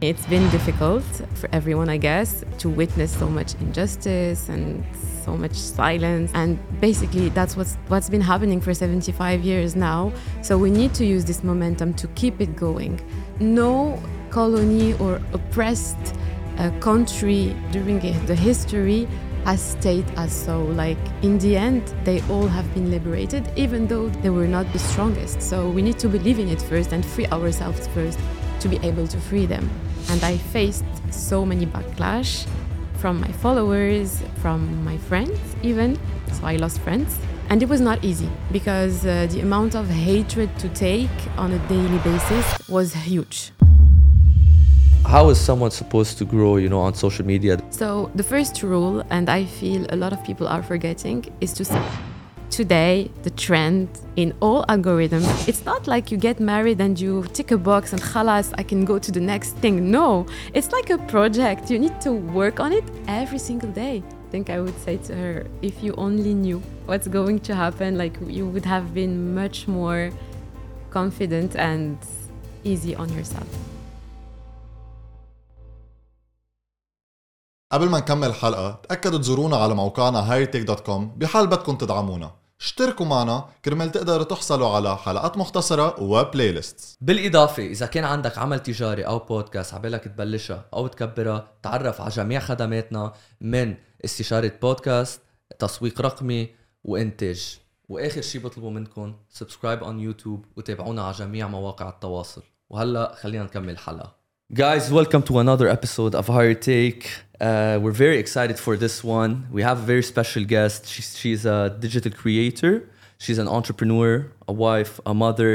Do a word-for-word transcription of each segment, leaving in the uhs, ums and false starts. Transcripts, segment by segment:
It's been difficult for everyone, I guess, to witness so much injustice and so much silence. And basically, that's what's, what's been happening for seventy-five years now. So we need to use this momentum to keep it going. No colony or oppressed uh, country during the history has stayed as so. Like, in the end, they all have been liberated, even though they were not the strongest. So we need to believe in it first and free ourselves first to be able to free them. And I faced so many backlash from my followers, from my friends even. So I lost friends. And it was not easy because uh, the amount of hatred to take on a daily basis was huge. How is someone supposed to grow, you know, on social media? So the first rule, and I feel a lot of people are forgetting, is to say, today, the trend in all algorithms, it's not like you get married and you tick a box and khalas, I can go to the next thing. No, it's like a project. You need to work on it every single day. I think I would say to her, if you only knew what's going to happen, like you would have been much more confident and easy on yourself. قبل ما نكمل الحلقة تأكدوا تزورونا على موقعنا هايرتك دوت كوم بحال بدكم تدعمونا. اشتركوا معنا كرمال تقدروا تحصلوا على حلقات مختصرة وبلاي ليست. بالإضافة إذا كان عندك عمل تجاري أو بودكاست عبالك تبلشها أو تكبرها، تعرف على جميع خدماتنا من استشارة بودكاست، تسويق رقمي وإنتاج. وآخر شي بطلبوا منكم سبسكرايب on يوتيوب وتابعونا على جميع مواقع التواصل. وهلأ خلينا نكمل الحلقة. Guys, welcome to another episode of Higher Take. Uh, we're very excited for this one. We have a very special guest. She's, she's a digital creator. She's an entrepreneur, a wife, a mother,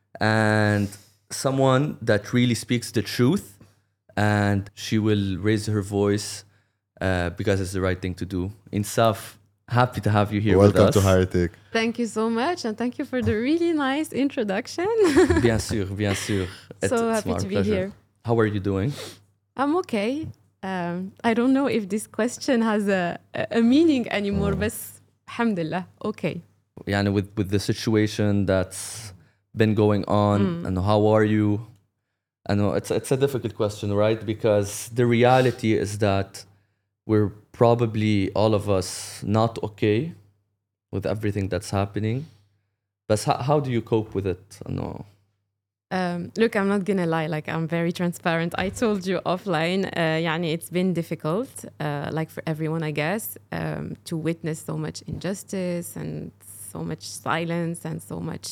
and someone that really speaks the truth. And she will raise her voice uh, because it's the right thing to do. Insaf, happy to have you here Welcome with us. to Higher Take. Thank you so much, and thank you for the really nice introduction. Bien sûr, bien sûr. It, So it's happy my to be pleasure. here. How are you doing? I'm okay. Um, I don't know if this question has a, a meaning anymore, but alhamdulillah, okay. Yani with, with the situation that's been going on, Mm. and how are you? I know it's it's a difficult question, right? Because the reality is that we're probably all of us not okay with everything that's happening. But how, how do you cope with it? I know. Um, look, I'm not gonna lie, like I'm very transparent. I told you offline, uh, يعني it's been difficult, uh, like for everyone, I guess, um, to witness so much injustice and so much silence and so much.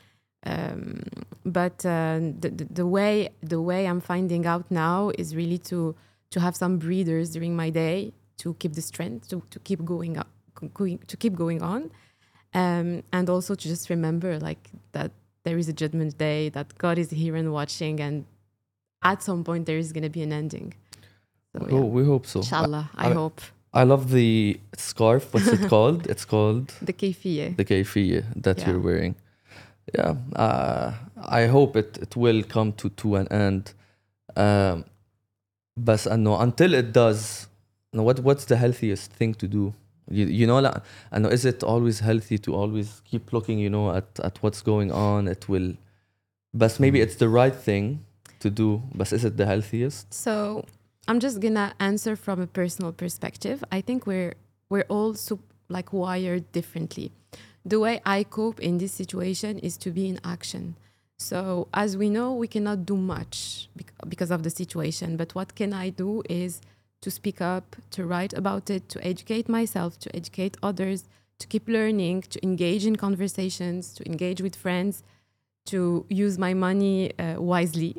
Um, but uh, the, the the way the way I'm finding out now is really to to have some breathers during my day to keep the strength to to keep going up, going to keep going on, um, and also to just remember like that. There is a judgment day, that God is here and watching, and at some point there is going to be an ending. So, yeah. Oh, we hope so. Inshallah, I, I- hope. I love the scarf. What's it called? It's called The kayfiyya. the kayfiyya that Yeah. you're wearing. Yeah, uh, I hope it, it will come to, to an end. Um, but uh, no, until it does, no, what what's the healthiest thing to do? You, you know, like, I know, is it always healthy to always keep looking, you know, at, at what's going on? It will, but maybe it's the right thing to do, but is it the healthiest? So I'm just gonna answer from a personal perspective. I think we're we're all sup- like wired differently. The way I cope in this situation is to be in action. So as we know, we cannot do much bec- because of the situation. But what can I do is to speak up, to write about it, to educate myself, to educate others, to keep learning, to engage in conversations, to engage with friends, to use my money uh, wisely.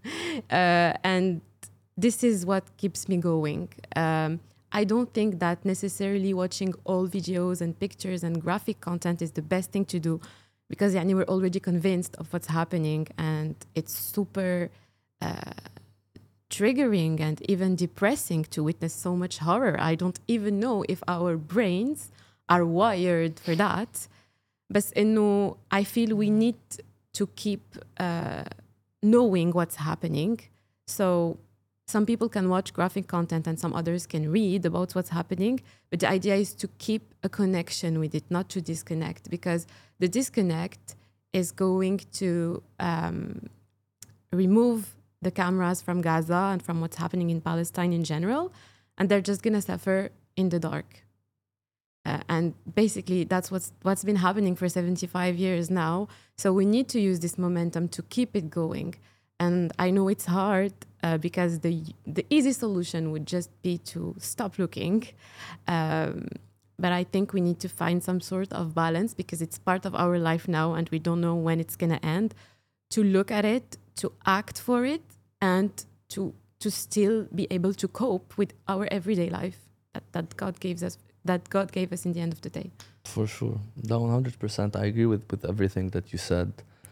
uh, and this is what keeps me going. Um, I don't think that necessarily watching all videos and pictures and graphic content is the best thing to do, because يعني, we're already convinced of what's happening, and it's super uh, triggering and even depressing to witness so much horror. I don't even know if our brains are wired for that. But إنه I feel we need to keep uh, knowing what's happening. So some people can watch graphic content and some others can read about what's happening. But the idea is to keep a connection with it, not to disconnect, because the disconnect is going to um, remove the cameras from Gaza and from what's happening in Palestine in general, and they're just gonna suffer in the dark. Uh, and basically, that's what's what's been happening for seventy-five years now. So we need to use this momentum to keep it going. And I know it's hard uh, because the the easy solution would just be to stop looking. Um, but I think we need to find some sort of balance because it's part of our life now and we don't know when it's going to end. To look at it, to act for it, and to to still be able to cope with our everyday life that, that God gives us, that God gave us in the end of the day. For sure. No, one hundred percent. I agree with, with everything that you said.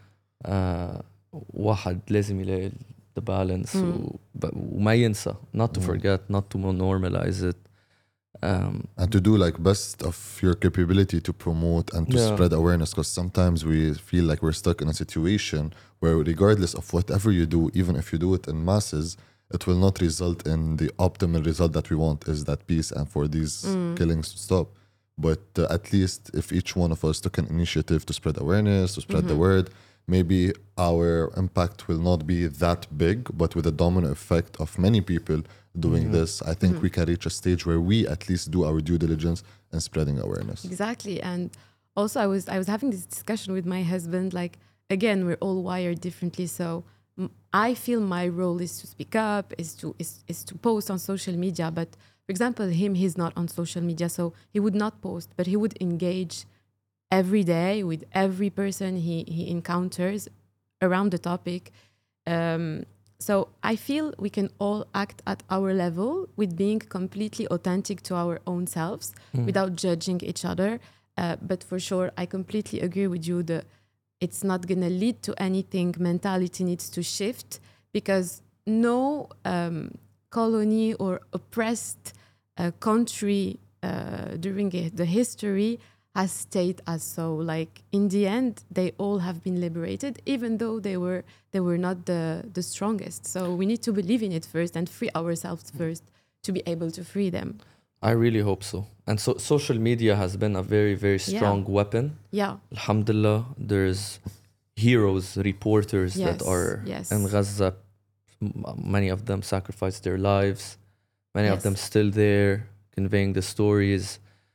Uh, واحد لازم يلاقي the balance Mm. و, ب- وما ينسى not to Mm. forget, not to normalize it. Um, And to do like best of your capability to promote and to Yeah. spread awareness, because sometimes we feel like we're stuck in a situation where regardless of whatever you do, even if you do it in masses, it will not result in the optimal result that we want, is that peace and for these Mm. killings to stop. But uh, at least if each one of us took an initiative to spread awareness, to spread the word, maybe our impact will not be that big, but with a domino effect of many people doing this, I think we can reach a stage where we at least do our due diligence in spreading awareness. Exactly. And also I was I was having this discussion with my husband, like, again, we're all wired differently. So m- I feel my role is to speak up, is to is, is to post on social media. But for example, him, he's not on social media, so he would not post, but he would engage every day with every person he, he encounters around the topic. Um, so I feel we can all act at our level with being completely authentic to our own selves without judging each other. Uh, but for sure, I completely agree with you that it's not going to lead to anything. Mentality needs to shift because no um, colony or oppressed uh, country uh, during i- the history has stayed as so. Like in the end, they all have been liberated, even though they were they were not the the strongest. So we need to believe in it first and free ourselves first to be able to free them. I really hope so. And so social media has been a very, very strong weapon. Yeah. Alhamdulillah, there's heroes, reporters that Yes, are yes. in Gaza. M- Many of them sacrificed their lives. Many of Yes. them still there, conveying the stories.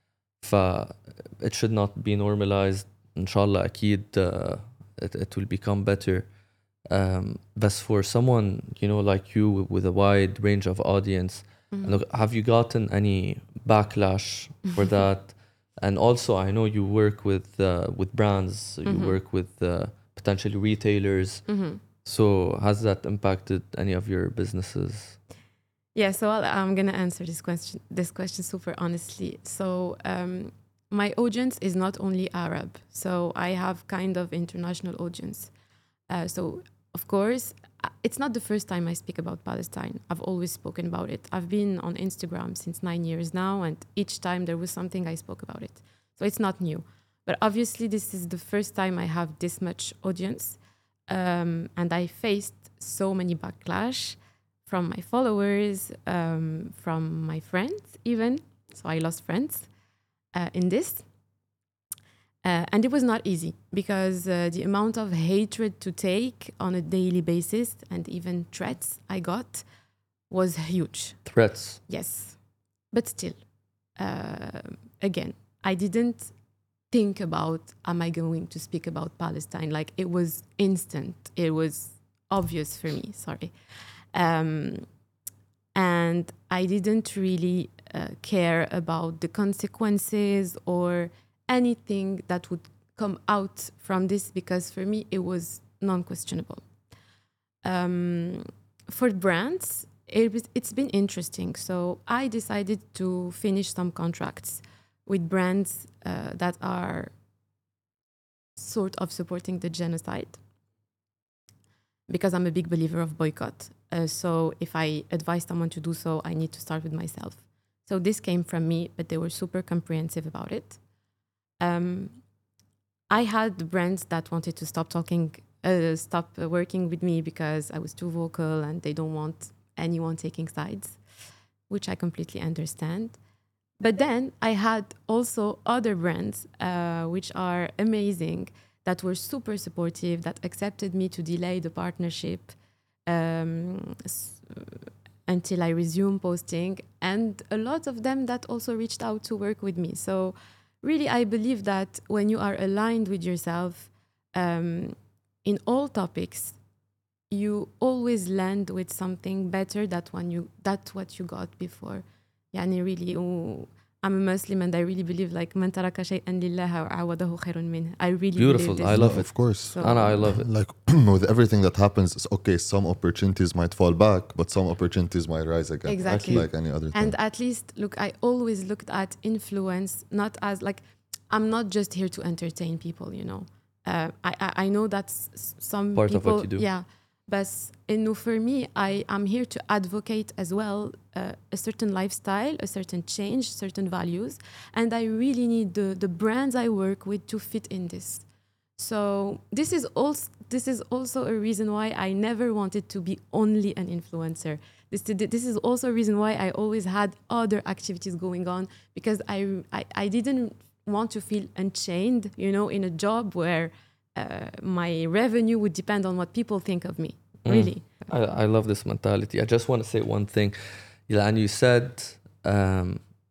ف it should not be normalized. Inshallah, أكيد uh, it, it will become better. Um, but for someone, you know, like you with a wide range of audience, look, have you gotten any backlash for that? And also, I know you work with uh, with brands, you work with uh, potentially retailers. So has that impacted any of your businesses? Yeah, so I'll, I'm gonna answer this question. This question super honestly. So um, my audience is not only Arab, so I have kind of international audience. Uh, so of course, uh, it's not the first time I speak about Palestine. I've always spoken about it. I've been on Instagram since nine years now, and each time there was something I spoke about it. So it's not new. But obviously, this is the first time I have this much audience, um, and I faced so many backlash from my followers, um, from my friends even. So I lost friends uh, in this. Uh, and it was not easy because uh, the amount of hatred to take on a daily basis and even threats I got was huge. Threats. Yes. But still, uh, again, I didn't think about, am I going to speak about Palestine? Like, it was instant. It was obvious for me, sorry. Um, and I didn't really uh, care about the consequences or anything that would come out from this because for me it was non-questionable. Um, for brands, it was, it's been interesting. So I decided to finish some contracts with brands uh, that are sort of supporting the genocide because I'm a big believer of boycott. Uh, so if I advise someone to do so, I need to start with myself. So this came from me, but they were super comprehensive about it. Um, I had brands that wanted to stop talking, uh, stop uh, working with me because I was too vocal and they don't want anyone taking sides, which I completely understand. But then I had also other brands, uh, which are amazing, that were super supportive, that accepted me to delay the partnership um, s- until I resume posting, and a lot of them that also reached out to work with me. So really, I believe that when you are aligned with yourself um, in all topics, you always land with something better than when you that what you got before. يعني really و- I'm a Muslim and I really believe like من ترك شيئا لله عوضه خير منه. I really Beautiful. believe this. I love No, it. of course. So- Anna, I love it. Like with everything that happens, it's okay, some opportunities might fall back, but some opportunities might rise again. Exactly. Like any other thing. And at least, look, I always looked at influence not as like, I'm not just here to entertain people, you know. Uh, I, I I know that's s- some Part of people, what you do. yeah. But إنه for me, I am here to advocate as well uh, a certain lifestyle, a certain change, certain values, and I really need the the brands I work with to fit in this. So this is also this is also a reason why I never wanted to be only an influencer. This this is also a reason why I always had other activities going on, because I I, I didn't want to feel unchained, you know, in a job where uh, my revenue would depend on what people think of me. Really. I, I love this mentality. I just want to say one thing. And you said um,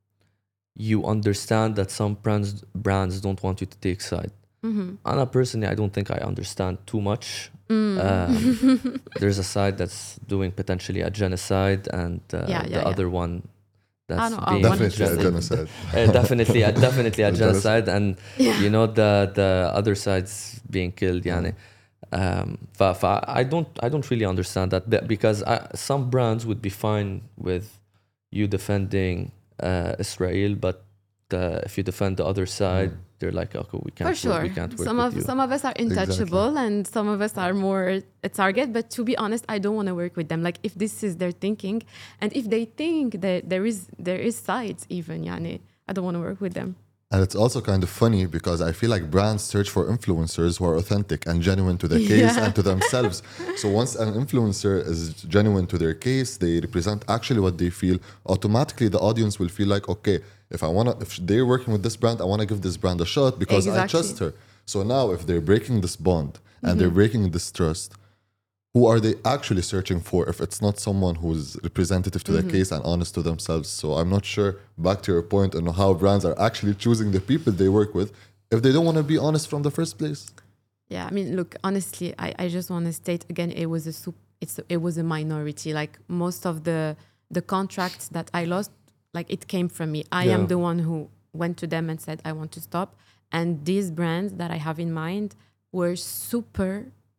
you understand that some brands brands don't want you to take side. Mm-hmm. Anna, personally, I don't think I understand too much. Mm. Um, there's a side that's doing potentially a genocide, and uh, Yeah, yeah, the yeah. other one that's Ah, no, uh, being Definitely a one hundred percent. genocide. Uh, definitely, uh, definitely a A genocide, and Yeah. you know the the other side's being killed. يعني. Um, ف, ف, I don't I don't really understand that be- because I, some brands would be fine with you defending uh, Israel, but uh, if you defend the other side, they're like, okay, we can't For work, sure. we can't work Some with of you. some of us are intouchable and some of us are more a target. But to be honest, I don't want to work with them. Like if this is their thinking, and if they think that there is there is sides even, yani, I don't want to work with them. And it's also kind of funny because I feel like brands search for influencers who are authentic and genuine to the case Yeah. and to themselves. So once an influencer is genuine to their case, they represent actually what they feel, automatically the audience will feel like, okay, if I want to, if they're working with this brand, I want to give this brand a shot because I Exactly. trust her. So now if they're breaking this bond and they're breaking this trust, who are they actually searching for if it's not someone who's representative to the case and honest to themselves? So I'm not sure, back to your point, on how brands are actually choosing the people they work with if they don't want to be honest from the first place. Yeah, I mean, look, honestly, I, I just want to state again, it was a sup- it's it was a minority. Like most of the the contracts that I lost, like it came from me. I am Yeah. the one who went to them and said I want to stop. And these brands that I have in mind were super,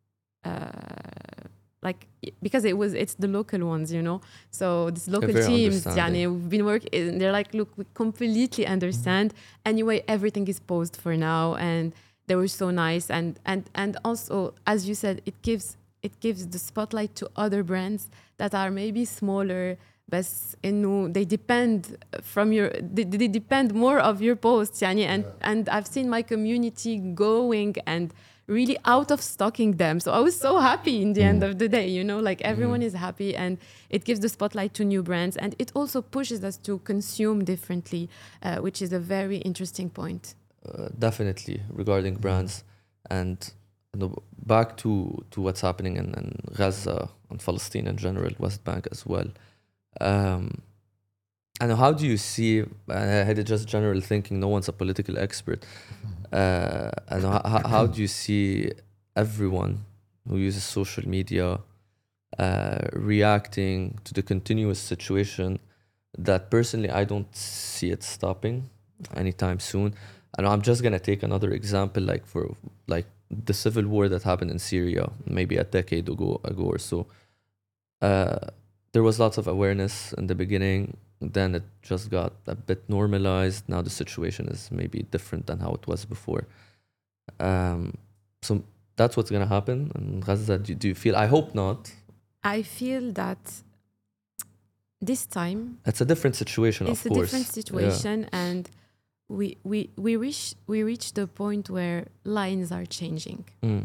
uh, like because it was it's the local ones, you know. So these local very teams, understanding. yani, we've been working. They're like, look, we completely understand. Anyway, everything is paused for now, and they were so nice. And and and also, as you said, it gives it gives the spotlight to other brands that are maybe smaller, but إنه they depend from your they, they depend more of your posts, يعني, and and I've seen my community going and really out of stocking them. So I was so happy in the end of the day, you know, like everyone is happy, and it gives the spotlight to new brands, and it also pushes us to consume differently, uh, which is a very interesting point. Uh, definitely regarding brands, and you know, back to to what's happening in, in Gaza and Palestine in general, West Bank as well. Um, and how do you see? I had just general thinking. No one's a political expert. Uh, and how, how do you see everyone who uses social media uh, reacting to the continuous situation that personally I don't see it stopping anytime soon? And I'm just gonna take another example, like for like the civil war that happened in Syria, maybe a decade ago, ago or so. Uh, there was lots of awareness in the beginning. Then it just got a bit normalized. Now the situation is maybe different than how it was before. Um, so that's what's gonna happen in Gaza. Do, do you feel? I hope not. I feel that this time It's a different situation, it's of a course. different situation, and we we we reach we reach the point where lines are changing. Yeah. Mm.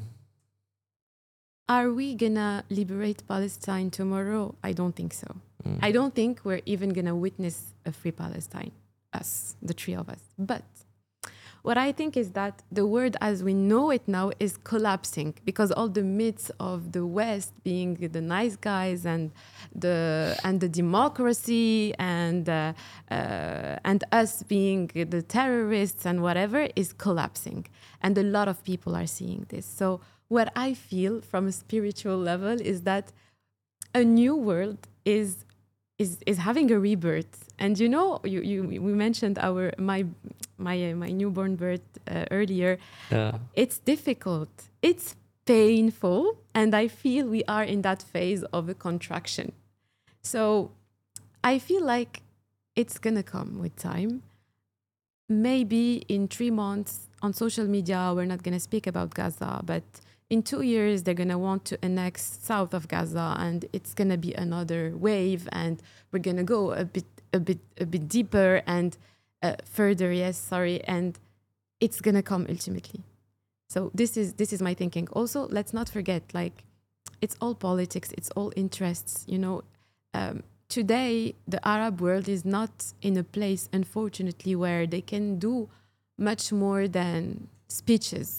Are we gonna liberate Palestine tomorrow? I don't think so. Mm. I don't think we're even gonna witness a free Palestine, us, the three of us. But what I think is that the world as we know it now is collapsing because all the myths of the West being the nice guys and the and the democracy and uh, uh, and us being the terrorists and whatever is collapsing, and a lot of people are seeing this. So what I feel from a spiritual level is that a new world is is is having a rebirth. And you know, you, you we mentioned our my my uh, my newborn birth uh, earlier. Yeah. It's difficult. It's painful, and I feel we are in that phase of a contraction. So I feel like it's gonna come with time. Maybe in three months on social media we're not gonna speak about Gaza, but in two years they're gonna want to annex south of Gaza, and it's gonna be another wave, and we're gonna go a bit a bit a bit deeper and uh, further. Yes, sorry, and it's gonna come ultimately. So this is this is my thinking. Also, let's not forget, like, it's all politics, it's all interests. You know, um, today the Arab world is not in a place, unfortunately, where they can do much more than speeches.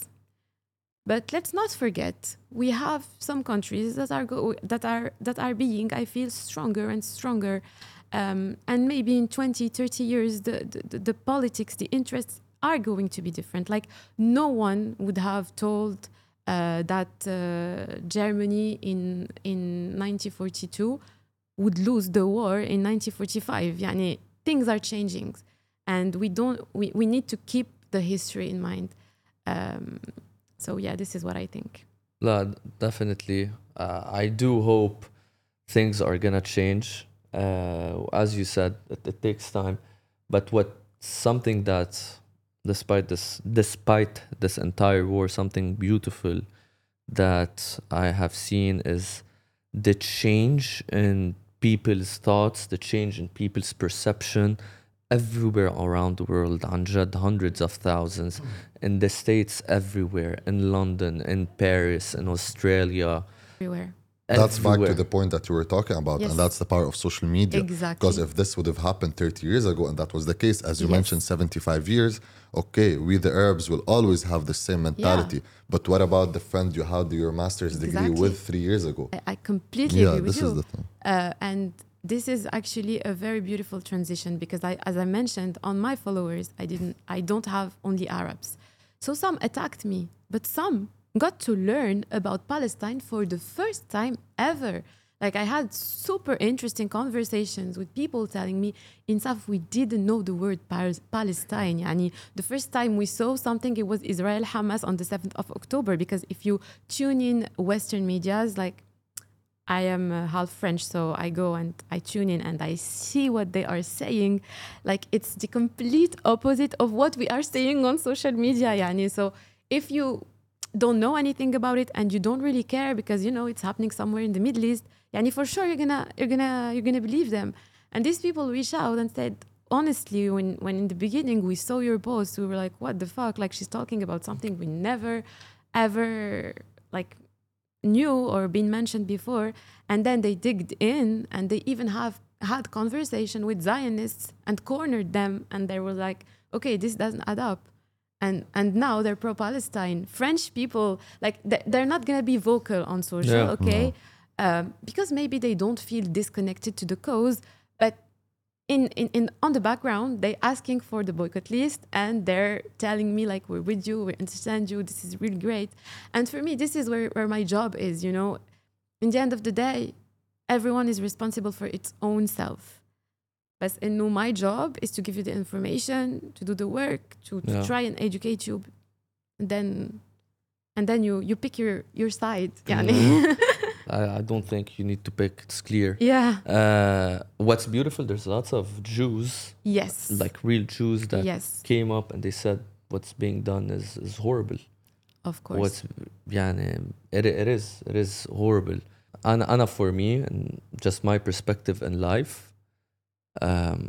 But let's not forget, we have some countries that are go- that are that are being, I feel, stronger and stronger. Um, and maybe in twenty, thirty years, the, the, the politics, the interests are going to be different. Like, no one would have told uh, that uh, Germany in in nineteen forty-two would lose the war in nineteen forty-five. Yani, things are changing, and we don't. We, we need to keep the history in mind. Um, so yeah, this is what I think. La, definitely. Uh, I do hope things are gonna change. Uh, as you said, it, it takes time. But what something that, despite this, despite this entire war, something beautiful that I have seen is the change in people's thoughts, the change in people's perception everywhere around the world. عن جد, hundreds of thousands in the States, everywhere, in London, in Paris, in Australia. Everywhere. That's back to everywhere. the point that you were talking about, Yes. and that's the power of social media. Exactly. Because if this would have happened thirty years ago, and that was the case, as you Yes. mentioned, seventy-five years, okay, we the Arabs will always have the same mentality. But what about the friend you had your master's degree Exactly. with three years ago? I, I completely Yeah, agree with this you. is the thing. Uh, and this is actually a very beautiful transition because I, as I mentioned, on my followers, I didn't, I don't have only Arabs. So some attacked me, but some got to learn about Palestine for the first time ever. Like, I had super interesting conversations with people telling me, in South, we didn't know the word Pal- Palestine. Yani, the first time we saw something, it was Israel Hamas on the seventh of October. Because if you tune in Western medias, like, I am uh, half French, so I go and I tune in and I see what they are saying. Like, it's the complete opposite of what we are saying on social media. Yani. So if you don't know anything about it and you don't really care because, you know, it's happening somewhere in the Middle East, yani, for sure you're gonna you're gonna you're gonna believe them. And these people reached out and said, honestly, when when in the beginning we saw your post, we were like, what the fuck? Like, she's talking about something we never ever like knew or been mentioned before. And then they digged in and they even have had conversation with Zionists and cornered them, and they were like, okay, this doesn't add up. And and now they're pro-Palestine. French people, like, they- they're not gonna be vocal on social, Yeah. okay? Um, because maybe they don't feel disconnected to the cause, but in, in, in on the background, they're asking for the boycott list and they're telling me, like, we're with you, we understand you, this is really great. And for me, this is where, where my job is, you know? In the end of the day, everyone is responsible for its own self. But in my job is to give you the information, to do the work, to, to Yeah. try and educate you. And then and then you, you pick your, your side. يعني. I, I don't think you need to pick, it's clear. Yeah. Uh, what's beautiful, there's lots of Jews, Yes. like real Jews, that Yes. came up and they said what's being done is, is horrible. Of course. What's يعني, it, it is it is horrible. أنا أنا for me, and just my perspective in life, um,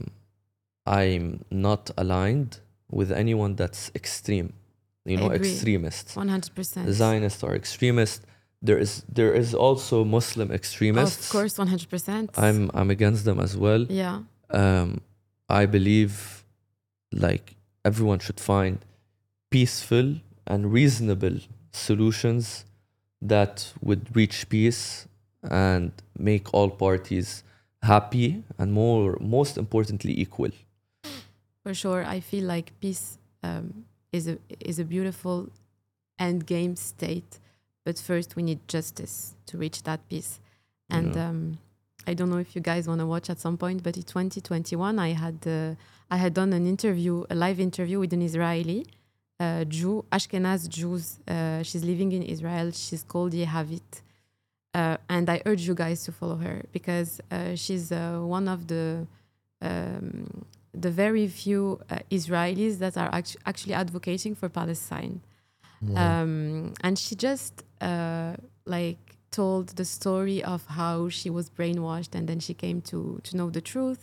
I'm not aligned with anyone that's extreme. You I know, agree. extremists. one hundred percent. Zionists are extremists. There is there is also Muslim extremists. Of course, one hundred percent. I'm I'm against them as well. Yeah. Um, I believe like everyone should find peaceful and reasonable solutions that would reach peace and make all parties happy and more most importantly equal. For sure, I feel like peace um, is a is a beautiful end game state, but first we need justice to reach that peace. And Yeah. um, I don't know if you guys want to watch at some point, but in twenty twenty-one, I had uh, I had done an interview, a live interview with an Israeli uh, Jew, Ashkenaz Jews. Uh, she's living in Israel. She's called Yehavit. Uh, and I urge you guys to follow her because uh, she's uh, one of the um, the very few uh, Israelis that are act- actually advocating for Palestine. Um, and she just uh, like told the story of how she was brainwashed and then she came to to know the truth,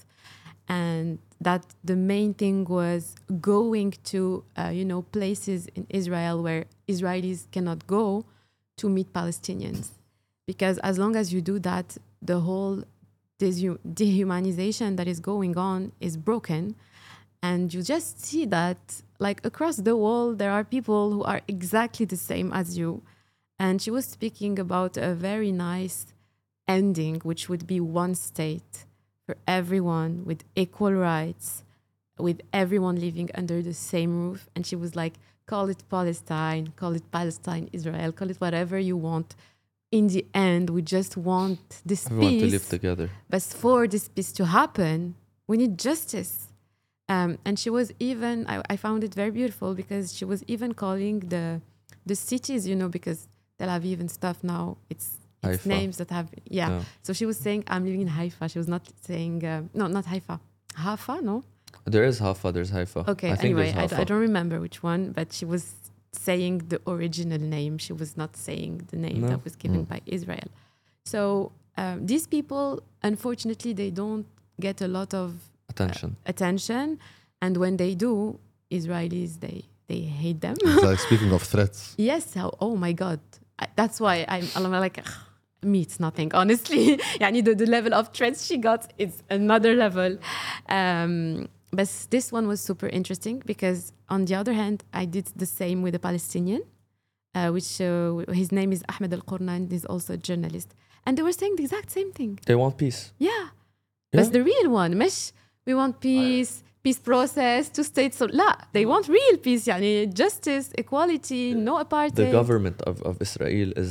and that the main thing was going to uh, you know places in Israel where Israelis cannot go to meet Palestinians, because as long as you do that, the whole dehu- dehumanization that is going on is broken. And you just see that, like, across the world, there are people who are exactly the same as you. And she was speaking about a very nice ending, which would be one state for everyone with equal rights, with everyone living under the same roof. And she was like, call it Palestine, call it Palestine, Israel, call it whatever you want. In the end, we just want this Everyone peace. to live together. But for this peace to happen, we need justice. Um, and she was even, I, I found it very beautiful because she was even calling the the cities, you know, because Tel Aviv and stuff now, it's, it's Haifa. names that have, yeah. Yeah. So she was saying, I'm living in Haifa. She was not saying, uh, no, not Haifa. Haifa, no? There is Haifa, there's Haifa. Okay, I think anyway, there's I, Haifa. I don't remember which one, but she was saying the original name. She was not saying the name No. that was given by Israel. So um, these people, unfortunately, they don't get a lot of Attention. attention, and when they do, Israelis they they hate them. It's like speaking of threats. Yes, how, oh my god, I, that's why I'm, I'm like "Ugh, me it's nothing, honestly. يعني the, the level of threats she got is another level. Um, but this one was super interesting because on the other hand, I did the same with a Palestinian, uh, which uh, his name is Ahmed Al-Qurnan, he's also a journalist, and they were saying the exact same thing. They want peace. Yeah. Yeah. But the real one, مش we want peace, peace process, two states. So لا, they want real peace, يعني justice, equality, no apartheid. The government of, of Israel is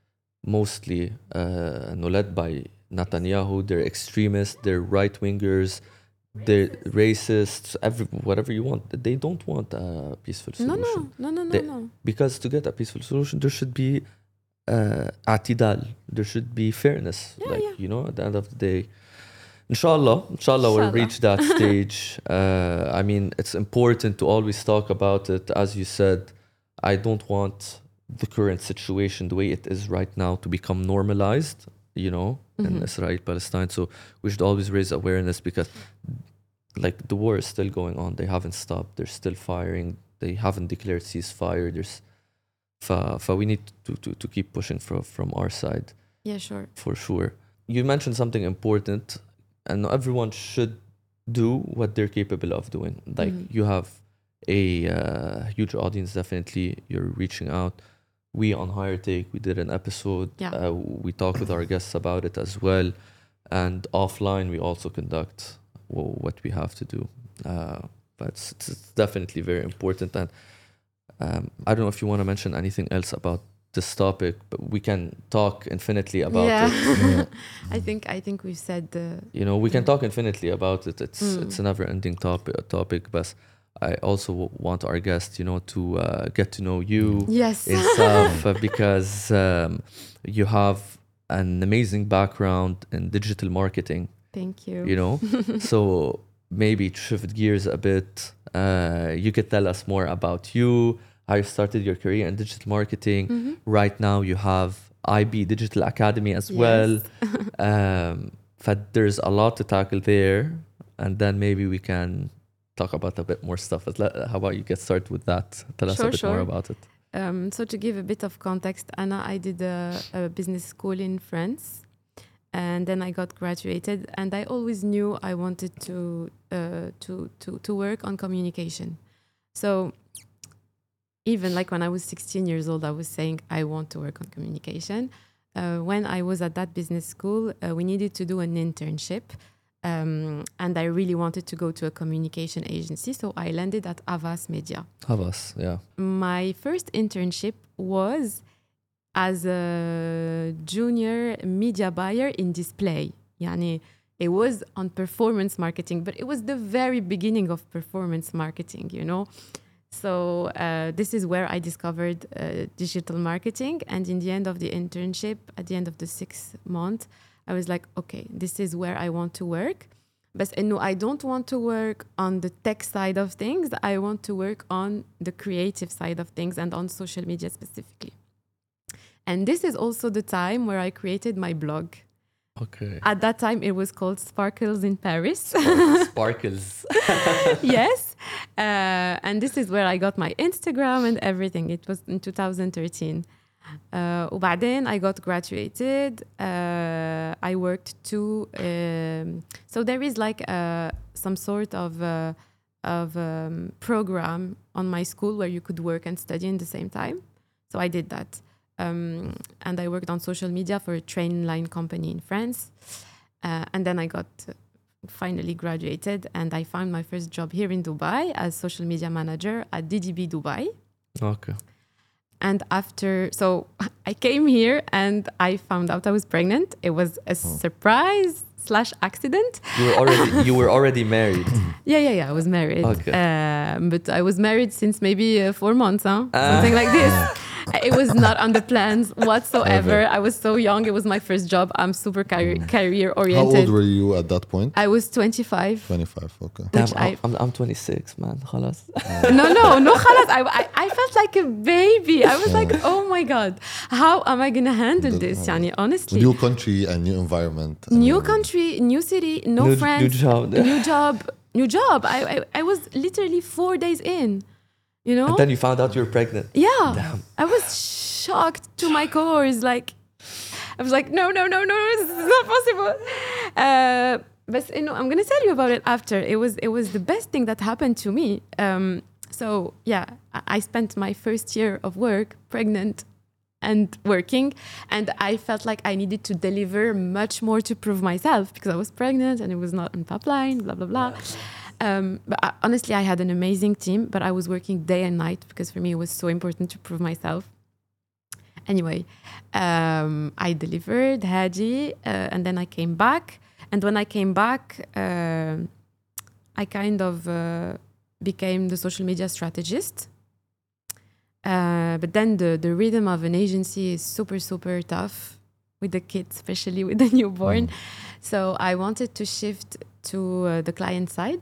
mostly uh, no, led by Netanyahu. They're extremists, they're right wingers, they're racists, every, whatever you want. They don't want a peaceful No, solution. no, no, no, no, They- no. Because to get a peaceful solution, there should be uh, اعتدال. There should be fairness. Yeah, like, yeah. you know, at the end of the day. Inshallah, inshallah, we'll Inshallah. reach that stage. Uh, I mean, it's important to always talk about it. As you said, I don't want the current situation, the way it is right now, to become normalized, you know, in Israel, Palestine. So we should always raise awareness because, like, the war is still going on. They haven't stopped. They're still firing. They haven't declared ceasefire. There's, fa, fa we need to, to, to keep pushing from, from our side. Yeah, sure. For sure. You mentioned something important, and everyone should do what they're capable of doing. Like, you have a uh, huge audience, definitely. You're reaching out. We on Higher Take, we did an episode. Yeah. Uh, we talked with our guests about it as well. And offline, we also conduct w- what we have to do. Uh, but it's, it's it's definitely very important. And um, I don't know if you want to mention anything else about this topic, but we can talk infinitely about yeah. it. I think I think we've said the You know, we can talk infinitely about it. It's Mm. it's a never-ending topic. Topic, but I also w- want our guests, you know, to uh, get to know you yes. and stuff uh, because um, you have an amazing background in digital marketing. Thank you. You know, so maybe to shift gears a bit, uh, you could tell us more about you, how you started your career in digital marketing. Right now, you have I B Digital Academy as well. um, but there's a lot to tackle there, and then maybe we can talk about a bit more stuff. But let- How about you get started with that? Tell us Sure, a bit sure. more about it. Um, so to give a bit of context, Anna, I did a, a business school in France, and then I got graduated. And I always knew I wanted to uh, to to to work on communication. So even like when I was sixteen years old, I was saying I want to work on communication. Uh, when I was at that business school, uh, we needed to do an internship. Um, and I really wanted to go to a communication agency. So I landed at Havas Media. Havas, yeah. My first internship was as a junior media buyer in display. Yani, it was on performance marketing, but it was the very beginning of performance marketing, you know. So uh, this is where I discovered uh, digital marketing. And in the end of the internship, at the end of the sixth month, I was like, okay, this is where I want to work. But no, I don't want to work on the tech side of things. I want to work on the creative side of things and on social media specifically. And this is also the time where I created my blog. Okay. At that time, it was called Sparkles in Paris. Sparkles. Yes. Uh, and this is where I got my Instagram and everything. It was in two thousand thirteen. Uh, وبعدين I got graduated. Uh, I worked too. Um, so there is like a, some sort of uh, of um, program on my school where you could work and study in the same time. So I did that. Um, and I worked on social media for a train line company in France. Uh, and then I got uh, finally graduated and I found my first job here in Dubai as social media manager at D D B Dubai. Okay. And after, so I came here and I found out I was pregnant. It was a oh. surprise slash accident. You were already you were already married. Yeah, yeah, yeah. I was married. Okay. Um, but I was married since maybe uh, four months, huh? Uh. Something like this. It was not on the plans whatsoever. I was so young. It was my first job. I'm super car- career oriented. How old were you at that point? I was twenty-five. twenty-five, okay. Damn, I, I'm, I'm twenty-six, man. خلاص. No, no, no, خلاص. I, I, I felt like a baby. I was like, oh my God, how am I going to handle this? Yani, honestly. New country and new environment. New country, new city, no new, friends. New job. New job. New job. I, I, I was literally four days in. You know? And then you found out you were pregnant. Yeah. Damn. I was shocked to my core. Like, I was like, no, no, no, no, this is not possible. Uh, but you know, I'm gonna tell you about it after. It was it was the best thing that happened to me. Um, so yeah, I spent my first year of work pregnant and working, and I felt like I needed to deliver much more to prove myself because I was pregnant and it was not on pipeline, blah blah blah. Um, but I, honestly, I had an amazing team, but I was working day and night because for me it was so important to prove myself. Anyway, um, I delivered Hadi, uh, and then I came back. And when I came back, uh, I kind of uh, became the social media strategist. Uh, but then the, the rhythm of an agency is super, super tough with the kids, especially with the newborn. Mm. So I wanted to shift to uh, the client side.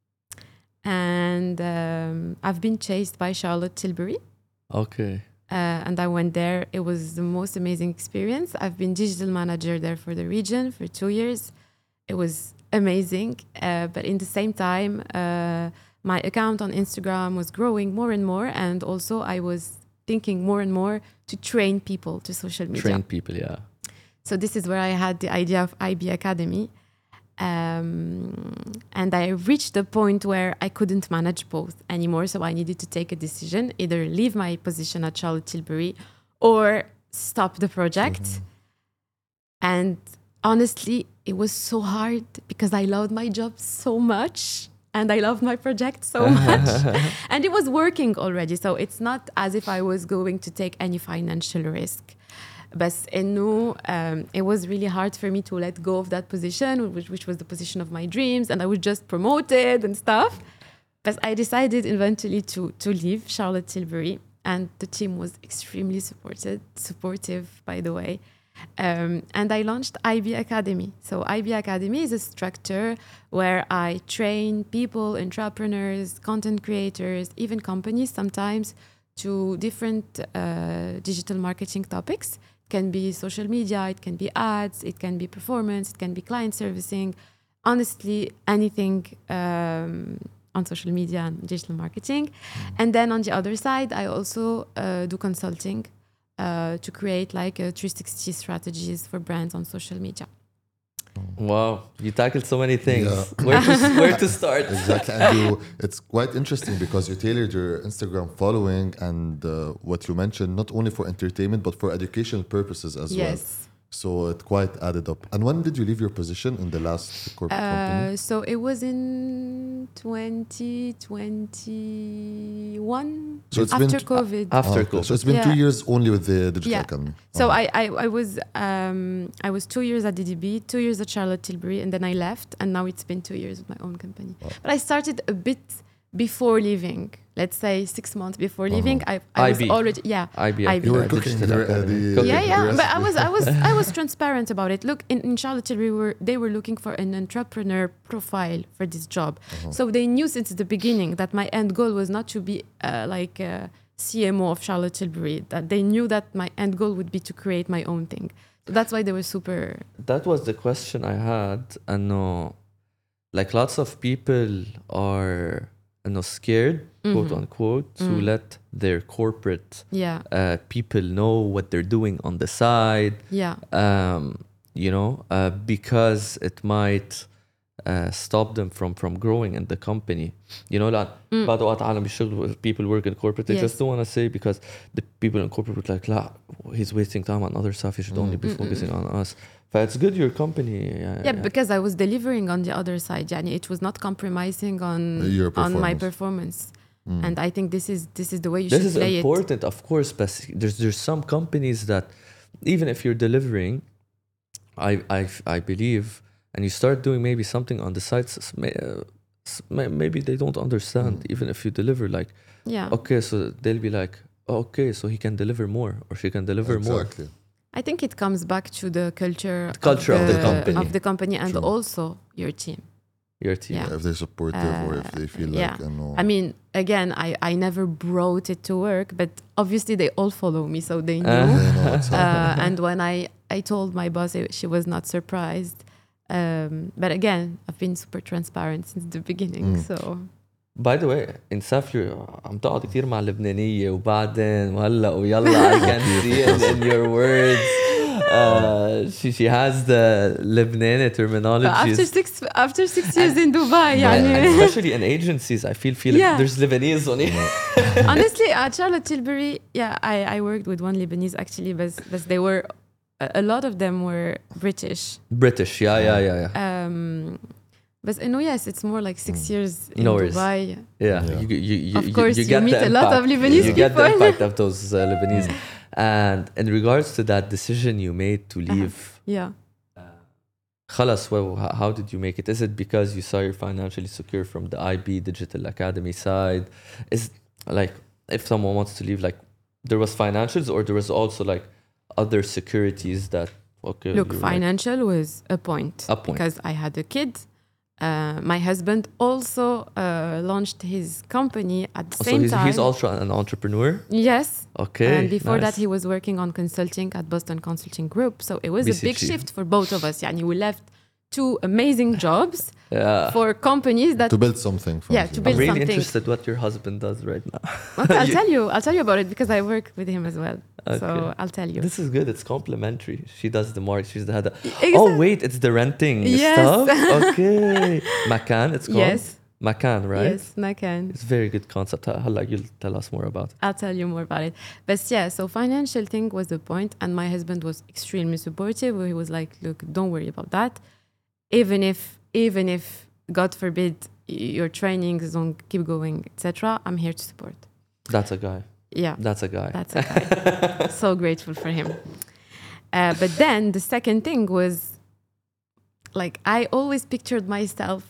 And um, I've been chased by Charlotte Tilbury. Okay. Uh, and I went there. It was the most amazing experience. I've been digital manager there for the region for two years. It was amazing. Uh, but in the same time, uh, my account on Instagram was growing more and more. And also I was thinking more and more to train people to social media. Train people, yeah. So this is where I had the idea of I B Academy. Um, and I reached the point where I couldn't manage both anymore. So I needed to take a decision, either leave my position at Charlotte Tilbury or stop the project. Mm-hmm. And honestly, it was so hard because I loved my job so much and I loved my project so much. And it was working already. So it's not as if I was going to take any financial risk. But إنه, um, it was really hard for me to let go of that position, which, which was the position of my dreams, and I was just promoted and stuff. But I decided eventually to to leave Charlotte Tilbury, and the team was extremely supported, supportive, by the way. Um, and I launched I B Academy. So I B Academy is a structure where I train people, entrepreneurs, content creators, even companies sometimes, to different uh, digital marketing topics. Can be social media, it can be ads, it can be performance, it can be client servicing, honestly anything um, on social media and digital marketing. And then on the other side, I also uh, do consulting uh, to create like a three sixty strategies for brands on social media. Wow, you tackled so many things. Yeah. Where to where to start? Exactly, and you, it's quite interesting because you tailored your Instagram following and uh, what you mentioned not only for entertainment but for educational purposes as well. Yes. So it quite added up. And when did you leave your position in the last corporate company? Uh, so it was in twenty twenty-one, So it's been after t- COVID. After Oh, okay. COVID. So it's been Yeah. two years only with the digital Yeah. academy. So Uh-huh. I, I, I was um, I was two years at D D B, two years at Charlotte Tilbury, and then I left, and now it's been two years with my own company. Wow. But I started a bit before leaving. Let's say six months before leaving. I, I was I B. already yeah. I B. I B. You were uh, cooking Digital your, uh, Academy. the- Cooking. Yeah, the yeah, but I recipe. was, I was, I was transparent about it. Look, in, in Charlotte Tilbury, we were they were looking for an entrepreneur profile for this job, so they knew since the beginning that my end goal was not to be uh, like a C M O of Charlotte Tilbury. That they knew that my end goal would be to create my own thing. So that's why they were super. That was the question I had. And no, like lots of people are you know, scared, quote unquote, to Mm. let their corporate Yeah, uh, people know what they're doing on the side. yeah, um, you know, uh, because it might uh, stop them from from growing in the company. You know, like بعض وقت عالم بيشتغلوا people work in corporate, they Yes. just don't want to say because the people in corporate would like, لا, he's wasting time on other stuff. He should only be focusing on us. But it's good your company. Uh, yeah. Because I was delivering on the other side. Yani it was not compromising on Your on my performance. performance. And I think this is this is the way you This should is play important, of course, but there's there's some companies that even if you're delivering, I I I believe, and you start doing maybe something on the sites, s- may- uh, s- may- maybe they don't understand. Even if you deliver, like it. Yeah. okay, so they'll be like, oh, okay, so he can deliver more or she can deliver more. Exactly. I think it comes back to the culture, culture of the company. of the company and True. also your team. Your team. Yeah. If they're supportive or if they feel yeah. like, you know, I mean, again, I, I never brought it to work, but obviously they all follow me, so they knew. they know what's up. uh, and when I, I told my boss, I- she was not surprised. Um, but again, I've been super transparent since the beginning. So By the way, in Safir, عم تقعد كثير مع اللبنانية وبعدين وهلا ويلا I can see it in your words. Uh, she she has the Lebanese terminology. but after six after six years in Dubai, And يعني. especially in agencies, I feel feel Yeah. there's Lebanese on it. Honestly, at Charlotte Tilbury, yeah, I, I worked with one Lebanese actually, but, but they were, a, a lot of them were British. British, yeah, yeah, yeah, yeah. Um, but uh, no, yes, it's more like six years in No worries. Dubai. Yeah, Yeah. You, you, you, Of course, you get meet the a lot of impact. Lebanese You get the people. impact of those uh, Lebanese. And in regards to that decision you made to leave, Yeah. خلاص, well, how how did you make it? Is it because you saw you're financially secure from the I B Digital Academy side? Is like if someone wants to leave, like there was financials or there was also like other securities that okay. Look, you're like- financial was a point. A point. Because I had a kid. Uh, my husband also uh, launched his company at the Oh, so same he's, time. he's also an entrepreneur. Yes. Okay. And before nice. that, he was working on consulting at Boston Consulting Group. So it was a big B C G. shift for both of us. Yani we left two amazing jobs Yeah. for companies that. to build something from Yeah, you. to I'm build really something. interested what your husband does right now. Okay, I'll You- tell you. I'll tell you about it because I work with him as well. So Okay. I'll tell you. This is good. It's complimentary. She does the market. She's the head. of- Exactly. Oh wait, it's the renting Yes. stuff. Okay, Macan. It's called Yes. Macan, right? Yes, Macan. It's a very good concept. Hala, you'll tell us more about it. I'll tell you more about it. But yeah, so financial thing was the point, and my husband was extremely supportive. He was like, "Look, don't worry about that. Even if, even if, God forbid, y- your trainings don't keep going, et cetera. I'm here to support." That's a guy. Yeah, That's a guy. that's a guy. So grateful for him. Uh, but then the second thing was, like, I always pictured myself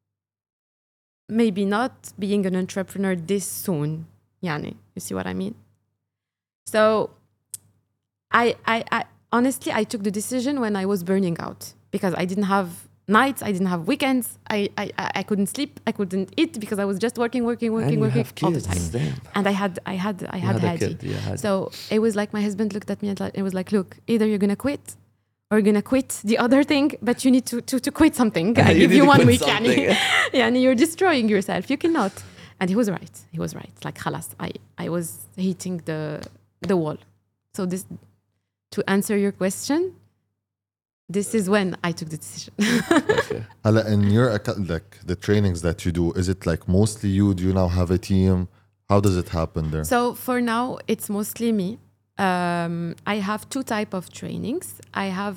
maybe not being an entrepreneur this soon. Yani, you see what I mean? So I, I, I honestly, I took the decision when I was burning out because I didn't have nights, I didn't have weekends, I, I, I I couldn't sleep, I couldn't eat because I was just working, working, working, and you working have all the kids. time. Damn. And I had, I had, I You had had a Hadi. kid. Yeah, Hadi. So it was like my husband looked at me and like- it was like, look, either you're gonna quit or you're gonna quit the other thing, but you need to to, to quit something. I You give need you to one quit week, something. yani. Yeah, and you're destroying yourself. You cannot. And he was right. He was right. Like, khalas, I, I was hitting the the wall. So this, to answer your question, this is when I took the decision. Okay. Hala, in your acca- like the trainings that you do, is it like mostly you? Do you now have a team? How does it happen there? So for now, it's mostly me. Um, I have two type of trainings. I have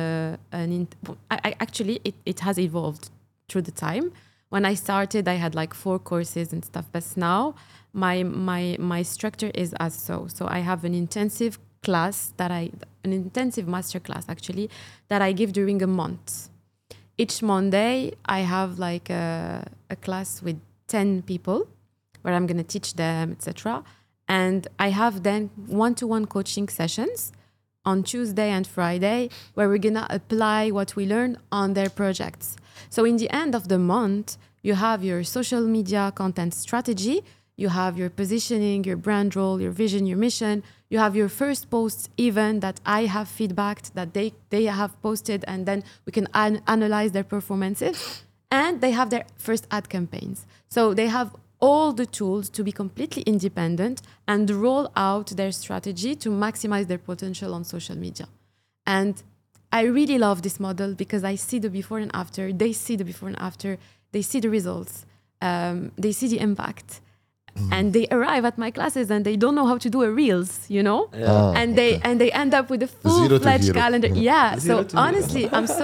uh, an in- I, I actually it, it has evolved through the time. When I started, I had like four courses and stuff. But now my my my structure is as so. So I have an intensive class that I an intensive master class actually that I give during a month. Each Monday, I have like a, a class with ten people where I'm gonna teach them, et cetera. And I have then one-to-one coaching sessions on Tuesday and Friday where we're gonna apply what we learn on their projects. So in the end of the month, you have your social media content strategy, you have your positioning, your brand role, your vision, your mission, you have your first posts even that I have feedbacked that they, they have posted, and then we can an- analyze their performances. And they have their first ad campaigns. So they have all the tools to be completely independent and roll out their strategy to maximize their potential on social media. And I really love this model because I see the before and after, they see the before and after, they see the results, um, they see the impact. Mm. And they arrive at my classes and they don't know how to do a reels, you know? Yeah. Ah, and they okay. and they end up with a Zero to full-fledged hero. calendar. Yeah. Zero So to hero. honestly, I'm so,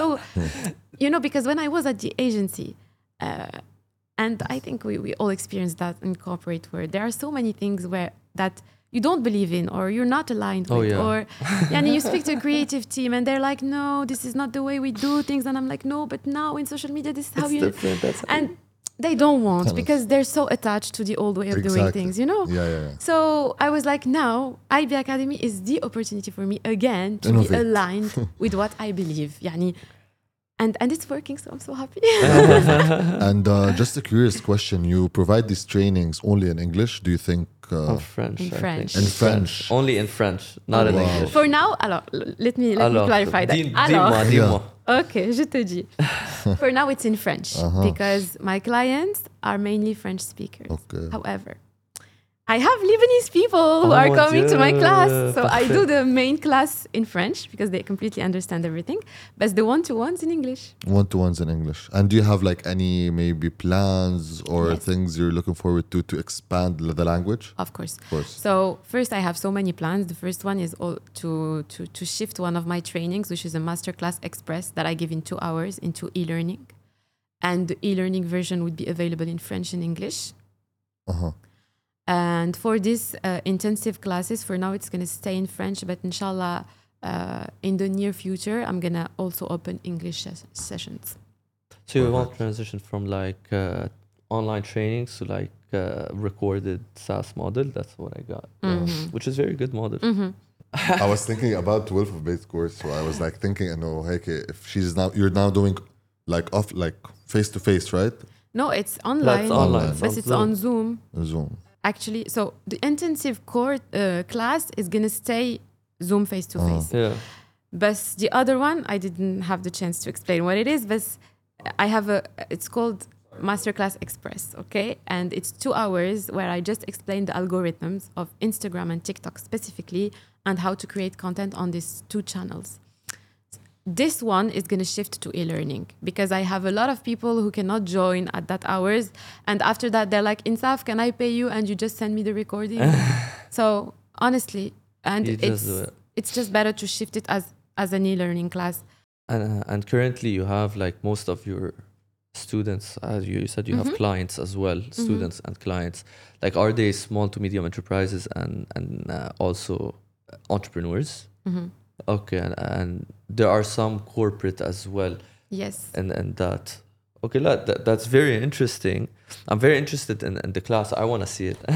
you know, because when I was at the agency, uh, and I think we, we all experience that in corporate world, there are so many things where that you don't believe in or you're not aligned Oh, with. yeah. Or yani, you speak to a creative team and they're like, no, this is not the way we do things. And I'm like, no, but now in social media, this is how It's you... different. That's And they don't want Tell us. because they're so attached to the old way of doing Exactly. things, you know? Yeah, yeah, yeah. So I was like, now I B Academy is the opportunity for me again to Innovate. be aligned with what I believe. Yani, and, and it's working, so I'm so happy. And uh, just a curious question: you provide these trainings only in English? Do you think? Uh, in French. In I French. think. In French. Only in French, not in Wow. English. For now, alors, let me, let me Alors, clarify that. dis- Alors, dis-moi, dis-moi. okay, je te dis. For now, it's in French Uh-huh. because my clients are mainly French speakers. Okay. However, I have Lebanese people who Oh are mon coming to my Dieu, class. So I do parfait. the main class in French because they completely understand everything, but the one-to-ones in English. One to ones in English. And do you have like any maybe plans or Yes. things you're looking forward to to expand l- the language? Of course. Of course. So first, I have so many plans. The first one is all to, to, to shift one of my trainings, which is a Masterclass Express that I give in two hours into e-learning. And the e-learning version would be available in French and English. Uh-huh. And for this uh, intensive classes, for now, it's going to stay in French, but inshallah, uh, in the near future, I'm going to also open English ses- sessions. So you want transition from like uh, online trainings to like uh, recorded SaaS model? That's what I got. Mhm. Which is very good model. Mhm. I was thinking about twelve of base course, so I was like thinking, I know, hey, okay, if she's now, you're now doing like off, like face to face, right? No, it's online, That's online. but It's it's on on Zoom. Zoom. Actually, so the intensive core uh, class is going to stay Zoom face to face. Yeah. But the other one, I didn't have the chance to explain what it is, but I have a, it's called Masterclass Express, okay? And it's two hours where I just explain the algorithms of Instagram and TikTok specifically and how to create content on these two channels. This one is going to shift to e-learning because I have a lot of people who cannot join at that hours. And after that, they're like, Insaf, can I pay you? And you just send me the recording. So honestly, and You just it's, do it. it's just better to shift it as, as an e-learning class. And, uh, and currently you have like most of your students, as you said, you have clients as well, students and clients. Like, are they small to medium enterprises and, and uh, also entrepreneurs? Mhm. Okay. And, and there are some corporate as well. Yes. and and that okay la, that, that's very interesting. I'm very interested in, in the class. I want to see it.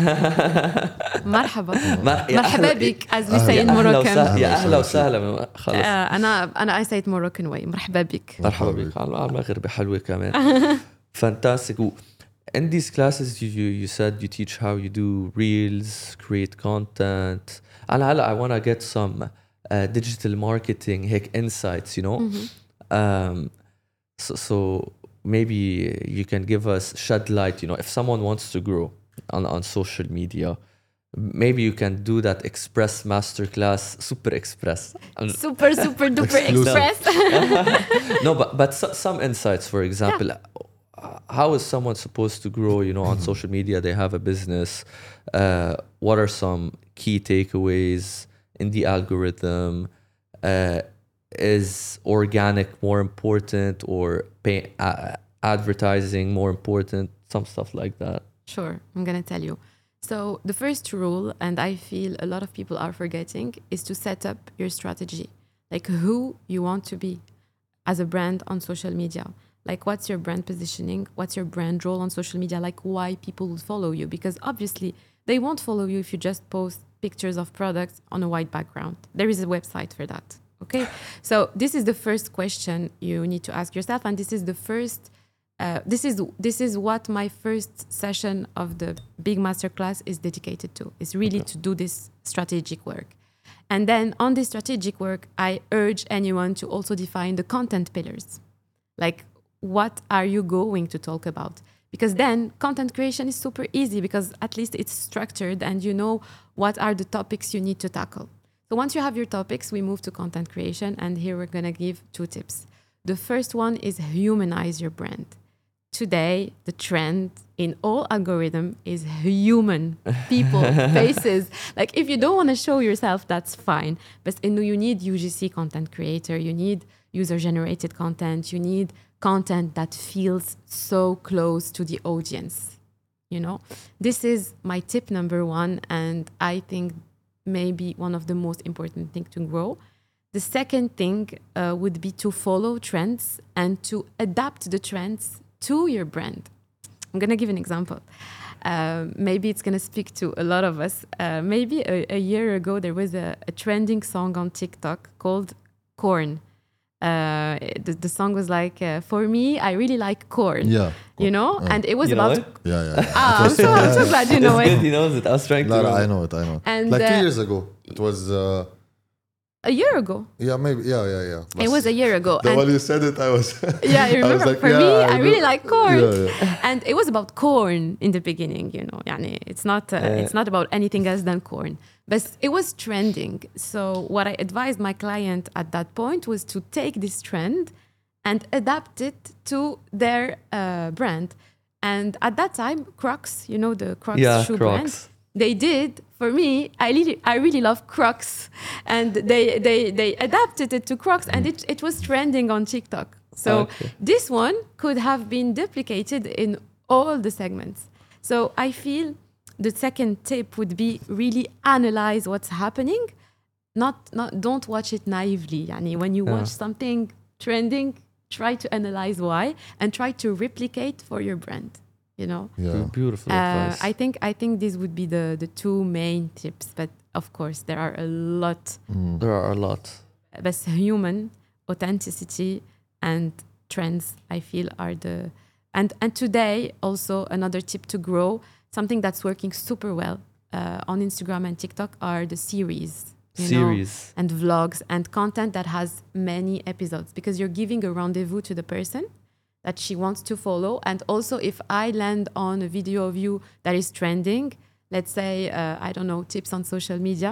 مرحبا مر- يا مرحبا أهلا- بك as we say يا in أهلا Moroccan. وسهلا- يا أهلا اهلا وسهلا. وسهلا خلص. آه، أنا أنا I say it Moroccan way مرحبا بك. مرحبا بك على على المغربي حلوة كمان. Fantastic. In these classes, you, you you said you teach how you do reels, create content. And هلا I want to get some uh, digital marketing هيك insights, you know. Um, so, so maybe you can give us shed light, you know, if someone wants to grow on, on social media, maybe you can do that express masterclass, super express. Super, super duper Exclusive. express. No, but but so, some insights, for example, uh, how is someone supposed to grow? You know, on social media, they have a business. Uh, what are some key takeaways in the algorithm? Uh, is organic more important, or pay, uh, advertising more important? Some stuff like that. Sure, I'm going to tell you. So the first rule, and I feel a lot of people are forgetting, is to set up your strategy. Like who you want to be as a brand on social media. Like what's your brand positioning? What's your brand role on social media? Like why people will follow you? Because obviously they won't follow you if you just post pictures of products on a white background. There is a website for that. Okay. So this is the first question you need to ask yourself. And this is the first Uh, this is this is what my first session of the big masterclass is dedicated to. Is really okay. to do this strategic work, and then on this strategic work, I urge anyone to also define the content pillars, like what are you going to talk about? Because then content creation is super easy because at least it's structured and you know what are the topics you need to tackle. So once you have your topics, we move to content creation, and here we're gonna give two tips. The first one is humanize your brand. Today, the trend in all algorithm is human people, faces. Like if you don't want to show yourself, that's fine. But you need U G C content creator, you need user-generated content, you need content that feels so close to the audience. You know, this is my tip number one, and I think maybe one of the most important things to grow. The second thing uh, would be to follow trends and to adapt the trends to your brand. I'm going to give an example. Uh, maybe it's going to speak to a lot of us. Uh, maybe a, a year ago, there was a, a trending song on TikTok called Corn. Uh, the, the song was like, uh, for me, I really like corn. Yeah. You know? Uh, and it was you know about... it? Yeah, yeah. yeah. Ah, I'm so, I'm so glad you know It's it. good, he knows it. I was trying to. No, no, remember. I know it, I know it. And, like two uh, years ago. It was, uh, A year ago. yeah, maybe, yeah, yeah, yeah. It was a year ago. The and when you said it, I was... yeah, I remember. was like, for yeah, me, I I, know. really like corn. Yeah, yeah. And it was about corn in the beginning, you know. Yani, it's not uh, Uh, it's not about anything else than corn. But it was trending. So what I advised my client at that point was to take this trend and adapt it to their uh, brand. And at that time, Crocs, you know, the Crocs Yeah, shoe Crocs. brand, they did. For me, I really, I really love Crocs, and they, they, they adapted it to Crocs, and it, it was trending on TikTok. So Okay. this one could have been duplicated in all the segments. So I feel the second tip would be really analyze what's happening. Not, not, don't watch it naively. Yani when you Yeah. watch something trending, try to analyze why and try to replicate for your brand. You know. Yeah. Beautiful Uh, advice. I think I think these would be the the two main tips, but of course there are a lot. Mm. There are a lot. But human authenticity and trends, I feel, are the and and today also another tip to grow, something that's working super well uh, on Instagram and TikTok are the series. You know, Series. and vlogs and content that has many episodes, because you're giving a rendezvous to the person that she wants to follow. And also if I land on a video of you that is trending, let's say, uh, I don't know, tips on social media,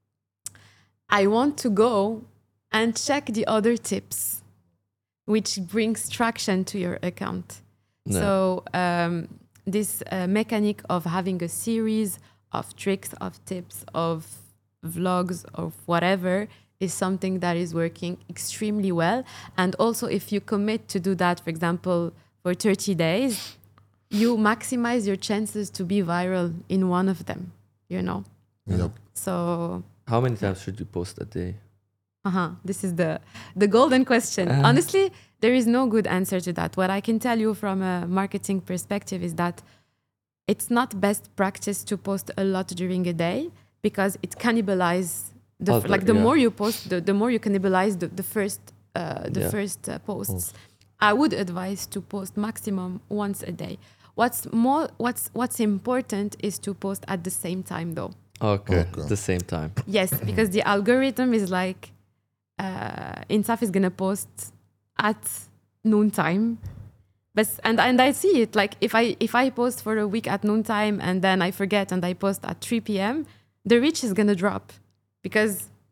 I want to go and check the other tips, which brings traction to your account. No. So um, this uh, mechanic of having a series of tricks, of tips, of vlogs, of whatever is something that is working extremely well. And also if you commit to do that, for example, for thirty days, you maximize your chances to be viral in one of them, you know? Yep. So, How many times should you post a day? uh-huh, this is the, the golden question. Uh. Honestly, there is no good answer to that. What I can tell you from a marketing perspective is that it's not best practice to post a lot during a day, because it cannibalizes the Other, like the yeah. more you post, the, the more you cannibalize the, the first uh, the Yeah. first uh, posts. I would advise to post maximum once a day. What's more, what's what's important is to post at the same time, though. Okay. Okay. At the same time. Yes, because the algorithm is like, uh, Insaf is gonna post at noontime, But and and I see it like if I if I post for a week at noontime and then I forget and I post at three p.m. the reach is gonna drop because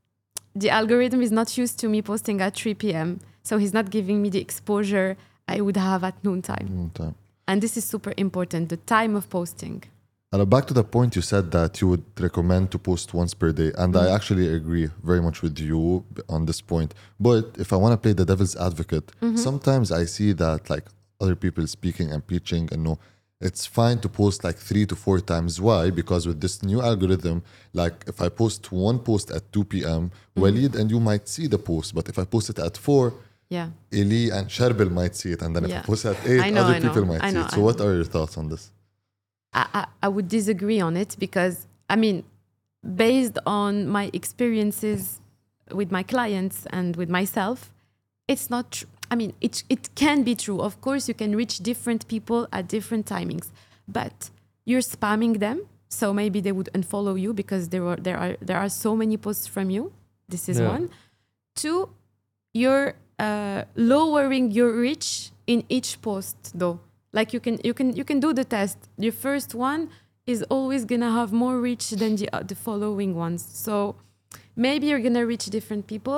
the algorithm is not used to me posting at three p.m. so he's not giving me the exposure I would have at noontime. Noontime. And this is super important, the time of posting. And back to the point you said that you would recommend to post once per day. And I actually agree very much with you on this point. But if I want to play the devil's advocate, sometimes I see that like other people speaking and preaching and no, it's fine to post like three to four times. Why? Because with this new algorithm, like if I post one post at two p.m., Walid and you might see the post. But if I post it at four, Yeah. Eli and Sharbil might see it. And then if Yeah. I post at eight, I know, other I know, people might I see know, it. I So what know. are your thoughts on this? I, I, I would disagree on it because, I mean, based on my experiences with my clients and with myself, it's not true. I mean, it, it can be true. Of course, you can reach different people at different timings, but you're spamming them. So maybe they would unfollow you because there are, there are, there are so many posts from you. This is Yeah. one. Two, you're uh, lowering your reach in each post though. Like you can you can you can do the test. Your first one is always gonna have more reach than the uh, the following ones. So maybe you're gonna reach different people,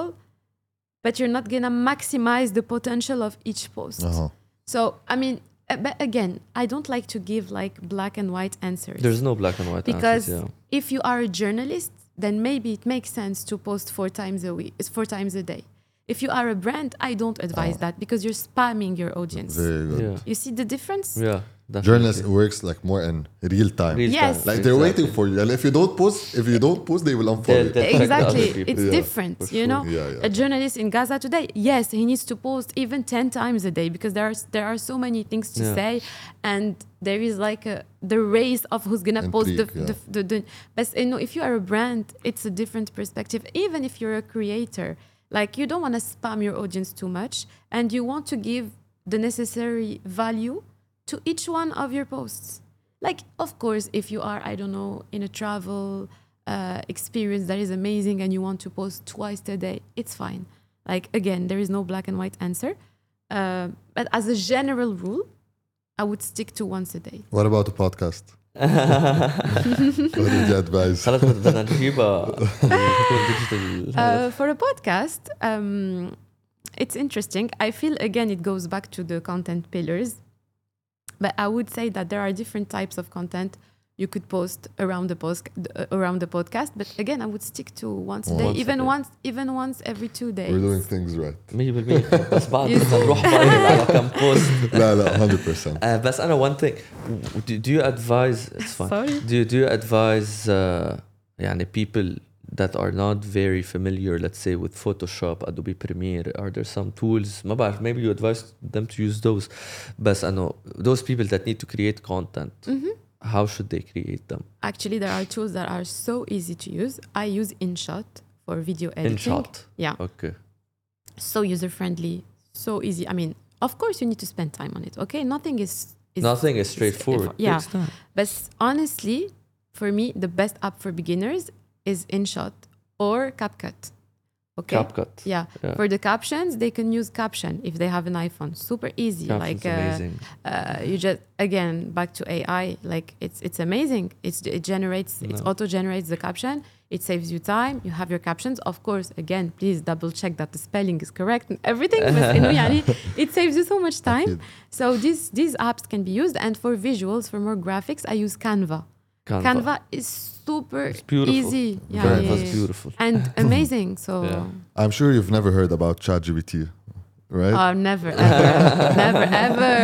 but you're not gonna maximize the potential of each post. Uh-huh. So I mean, uh, but again, I don't like to give like black and white answers. There's no black and white Because answers, yeah. if you are a journalist, then maybe it makes sense to post four times a week, it's four times a day. If you are a brand, I don't advise that because you're spamming your audience. Very good. Yeah. You see the difference? Yeah. Definitely. Journalists works like more in real time. Real Yes. time, Like they're exactly. waiting for you. And if you don't post, if you don't post, they will unfollow They'll- you. they'll- check the Exactly. other people. It's Yeah, different, for you sure. know? Yeah, yeah. A journalist in Gaza today, yes, he needs to post even ten times a day because there are there are so many things to Yeah. say and there is like a, the race of who's going to post the, Intrigue, the, the, the but you know, if you are a brand, it's a different perspective. Even if you're a creator, like you don't want to spam your audience too much and you want to give the necessary value to each one of your posts. Like, of course, if you are, I don't know, in a travel uh, experience that is amazing and you want to post twice a day, it's fine. Like, again, there is no black and white answer. Uh, but as a general rule, I would stick to once a day. What about the podcast? What would you advise? خلاص بدنا نجيبها تكون digital. Uh, for a podcast, um, it's interesting. I feel, again, it goes back to the content pillars. But I would say that there are different types of content you could post around the post uh, around the podcast. But again, I would stick to once a day, Once a even day. once, even once every two days. We're doing things right. مية بالمية بس بعد بدنا نروح viral على كم بوست. لا لا one hundred percent. Uh, بس أنا one thing do, do you advise it's fine Sorry. do you, do you advise uh, يعني people that are not very familiar let's say with Photoshop Adobe Premiere are there some tools ما بعرف maybe you advise them to use those بس أنه those people that need to create content how should they create them Actually, there are tools that are so easy to use. I use InShot for video editing. InShot Yeah. okay So user friendly, so easy. I mean, of course, you need to spend time on it. Okay, nothing is. is nothing is straightforward Yeah. Takes time. But honestly, for me, the best app for beginners is InShot or CapCut. Okay. CapCut Yeah. Yeah. For the captions, they can use Caption if they have an iPhone. Super easy. Caption's like uh, amazing uh, you just again back to A I. Like it's it's amazing. It's it generates it No. auto generates the caption. It saves you time. You have your captions. Of course, again, please double check that the spelling is correct and everything. بس إنه يعني it saves you so much time. أكيد. So these these apps can be used. And for visuals, for more graphics, I use Canva. Canva, Canva is super It's beautiful. easy. Yeah, Very yeah, Canva's yeah. beautiful And amazing. So Yeah. I'm sure you've never heard about ChatGPT, right? oh, never ever, never ever.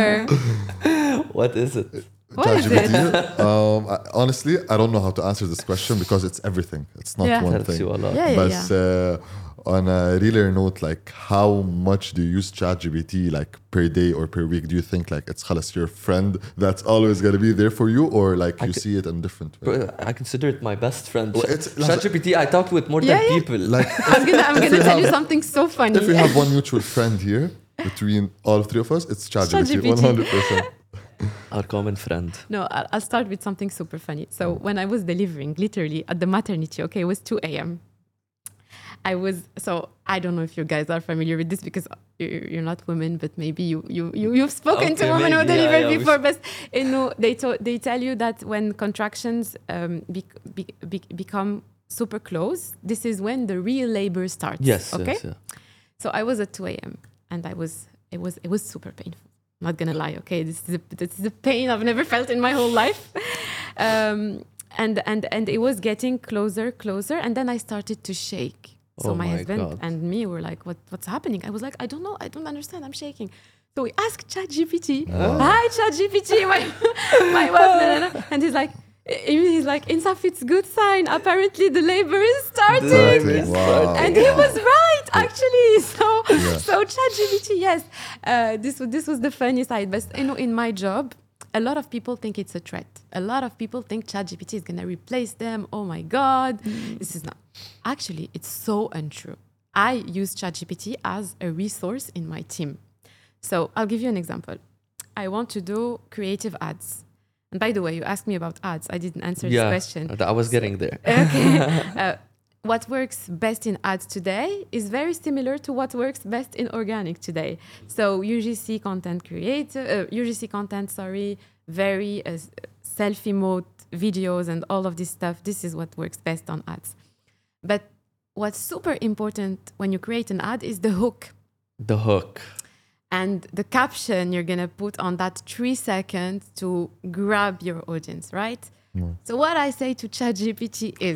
what is it What is ChatGPT. um, I, honestly, I don't know how to answer this question because it's everything. It's not Yeah. one helps thing. you a lot Yeah, yeah, But yeah. uh, on a realer note, like how much do you use ChatGPT like per day or per week? Do you think like it's خلاص your friend that's always gonna be there for you, or like I you c- see it in different way? Bro, I consider it my best friend. Well, it's- ChatGPT, I talked with more Yeah, than yeah. people. Like I'm gonna I'm If gonna you tell you have- something so funny. if we have one mutual friend here between all three of us, it's ChatGPT, ChatGPT. one hundred percent. Our common friend. No, I'll, I'll start with something super funny. So when I was delivering, literally at the maternity, okay, it was two a.m. I was so I don't know if you guys are familiar with this because you're, you're not women, but maybe you you, you you've spoken Okay, to women who maybe, yeah, deliver yeah, we before. But you know they to, they tell you that when contractions um, be, be, be, become super close, this is when the real labor starts. Yes. Okay. Yes, yeah. So I was at two a.m. and I was it was it was super painful. I'm not gonna lie. Okay, this is a, this is a pain I've never felt in my whole life. Um, and and and it was getting closer, closer, and then I started to shake. So Oh my, my husband God. and me were like, "What what's happening?" I was like, "I don't know. I don't understand. I'm shaking." So we asked ChatGPT. Hi, ChatGPT, my my wife, no, no, no. And he's like, he's like, Insaf, it's good sign. Apparently the labor is starting. Starting. Wow. And he was right, actually. So, Yeah. so ChatGPT, yes. Uh, this was this was the funny side. But you know, in my job, a lot of people think it's a threat. A lot of people think ChatGPT is gonna replace them. Oh my God, this is not. Actually, it's so untrue. I use ChatGPT as a resource in my team. So I'll give you an example. I want to do creative ads. And by the way, you asked me about ads. I didn't answer Yeah, this question. I was getting there. Okay. Uh, what works best in ads today is very similar to what works best in organic today. So U G C content creator, uh, U G C content, sorry, very uh, selfie mode videos and all of this stuff. This is what works best on ads. But what's super important when you create an ad is the hook. The hook. And the caption you're going to put on that three seconds to grab your audience, right? Mm. So what I say to ChatGPT is,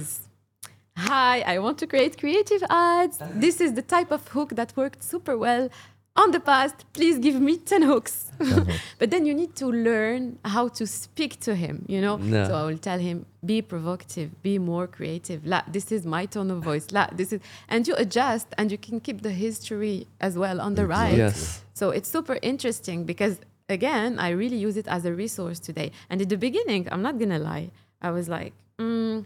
hi, I want to create creative ads. This is the type of hook that worked super well on the past. Please give me ten hooks. But then you need to learn how to speak to him, you know? No. So I will tell him, be provocative, be more creative. La, this is my tone of voice. La, this is, and you adjust and you can keep the history as well on the right. Yes. So it's super interesting because, again, I really use it as a resource today. And in the beginning, I'm not going to lie, I was like, mm,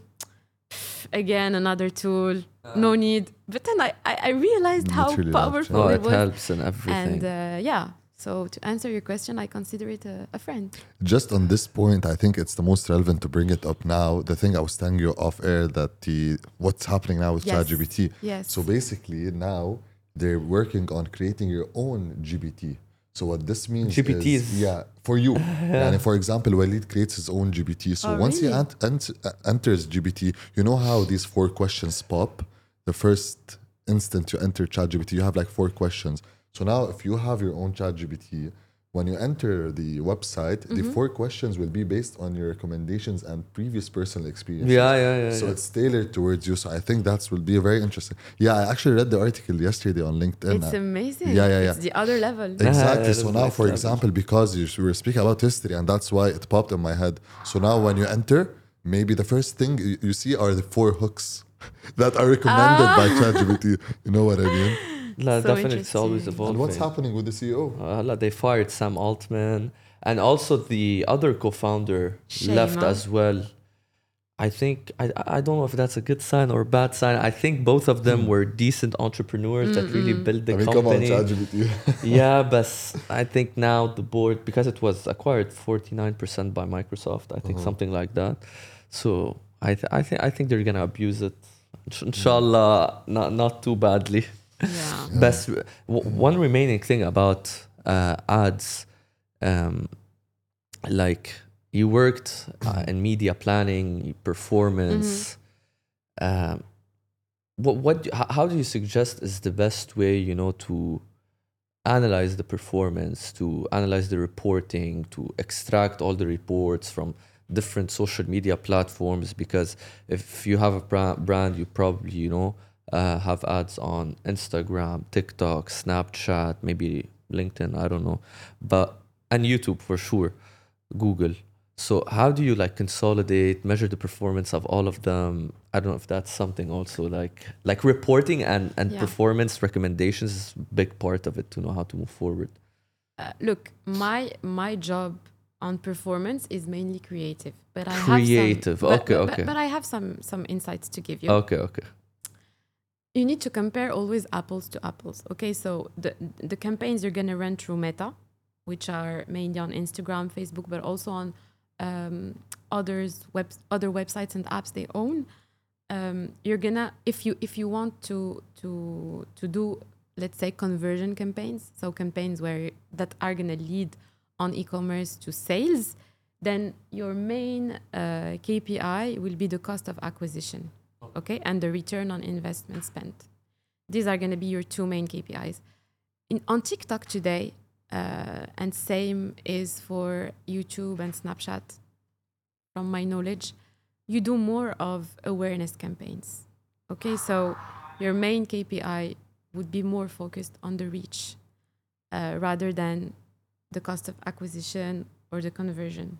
again, another tool, no need. But then I, I, I realized how Literally helps, powerful Oh, it it was. helps and everything. And uh, yeah, so to answer your question, I consider it a, a friend. Just on this point, I think it's the most relevant to bring it up now. The thing I was telling you off air that the what's happening now with Yes. ChatGPT. Yes. So basically now they're working on creating your own G P T. So what this means G P Ts. is, yeah, for you. And for example, Walid creates his own G P T. So Oh, once really? he ent- ent- uh, enters G P T, you know how these four questions pop? The first instant you enter ChatGPT, you have like four questions. So now if you have your own ChatGPT, when you enter the website, the four questions will be based on your recommendations and previous personal experiences. Yeah, yeah, yeah, So yeah. it's tailored towards you. So I think that will be very interesting. Yeah, I actually read the article yesterday on LinkedIn. It's amazing. Yeah, yeah, yeah. It's the other level. Exactly. Yeah, So that's now, next for level. example, because you we were speaking about history, and that's why it popped in my head. So now, when you enter, maybe the first thing you, you see are the four hooks that are recommended by ChatGPT. You know what I mean? La, So definitely, it's always interesting. evolving. And what's happening with the C E O? Uh, la, they fired Sam Altman, and also the other co-founder Shame, left huh? as well. I think I I don't know if that's a good sign or a bad sign. I think both of them were decent entrepreneurs that really built the I mean, come on, company. ChatGPT. Yeah, but I think now the board, because it was acquired forty-nine percent by Microsoft, I think something like that. So I th- I think I think they're gonna abuse it. Insh- Inshallah, not not too badly. Yeah. Best w- one remaining thing about uh, ads, um, like you worked uh, in media planning, performance. Um, what what do- h- how do you suggest is the best way, you know, to analyze the performance, to analyze the reporting, to extract all the reports from different social media platforms? Because if you have a bra- brand, you probably, you know, uh, have ads on Instagram, TikTok, Snapchat, maybe LinkedIn, I don't know, but and YouTube for sure, Google. So how do you like consolidate, measure the performance of all of them? I don't know if that's something also like like reporting and and Yeah. performance recommendations is a big part of it to know how to move forward. Uh, look, my my job on performance is mainly creative, but I Creative, have some, but- okay, but, okay. But, but I have some some insights to give you. Okay, okay. You need to compare always apples to apples. Okay, so the the campaigns you're gonna run through Meta, which are mainly on Instagram, Facebook, but also on um, others web other websites and apps they own. um, you're gonna if you if you want to to to do, let's say, conversion campaigns, so campaigns where that are gonna lead on e-commerce to sales, then your main uh, K P I will be the cost of acquisition, okay, and the return on investment spent. These are gonna be your two main K P Is. In, on TikTok today, uh, and same is for YouTube and Snapchat, from my knowledge, you do more of awareness campaigns. Okay, so your main K P I would be more focused on the reach uh, rather than the cost of acquisition or the conversion.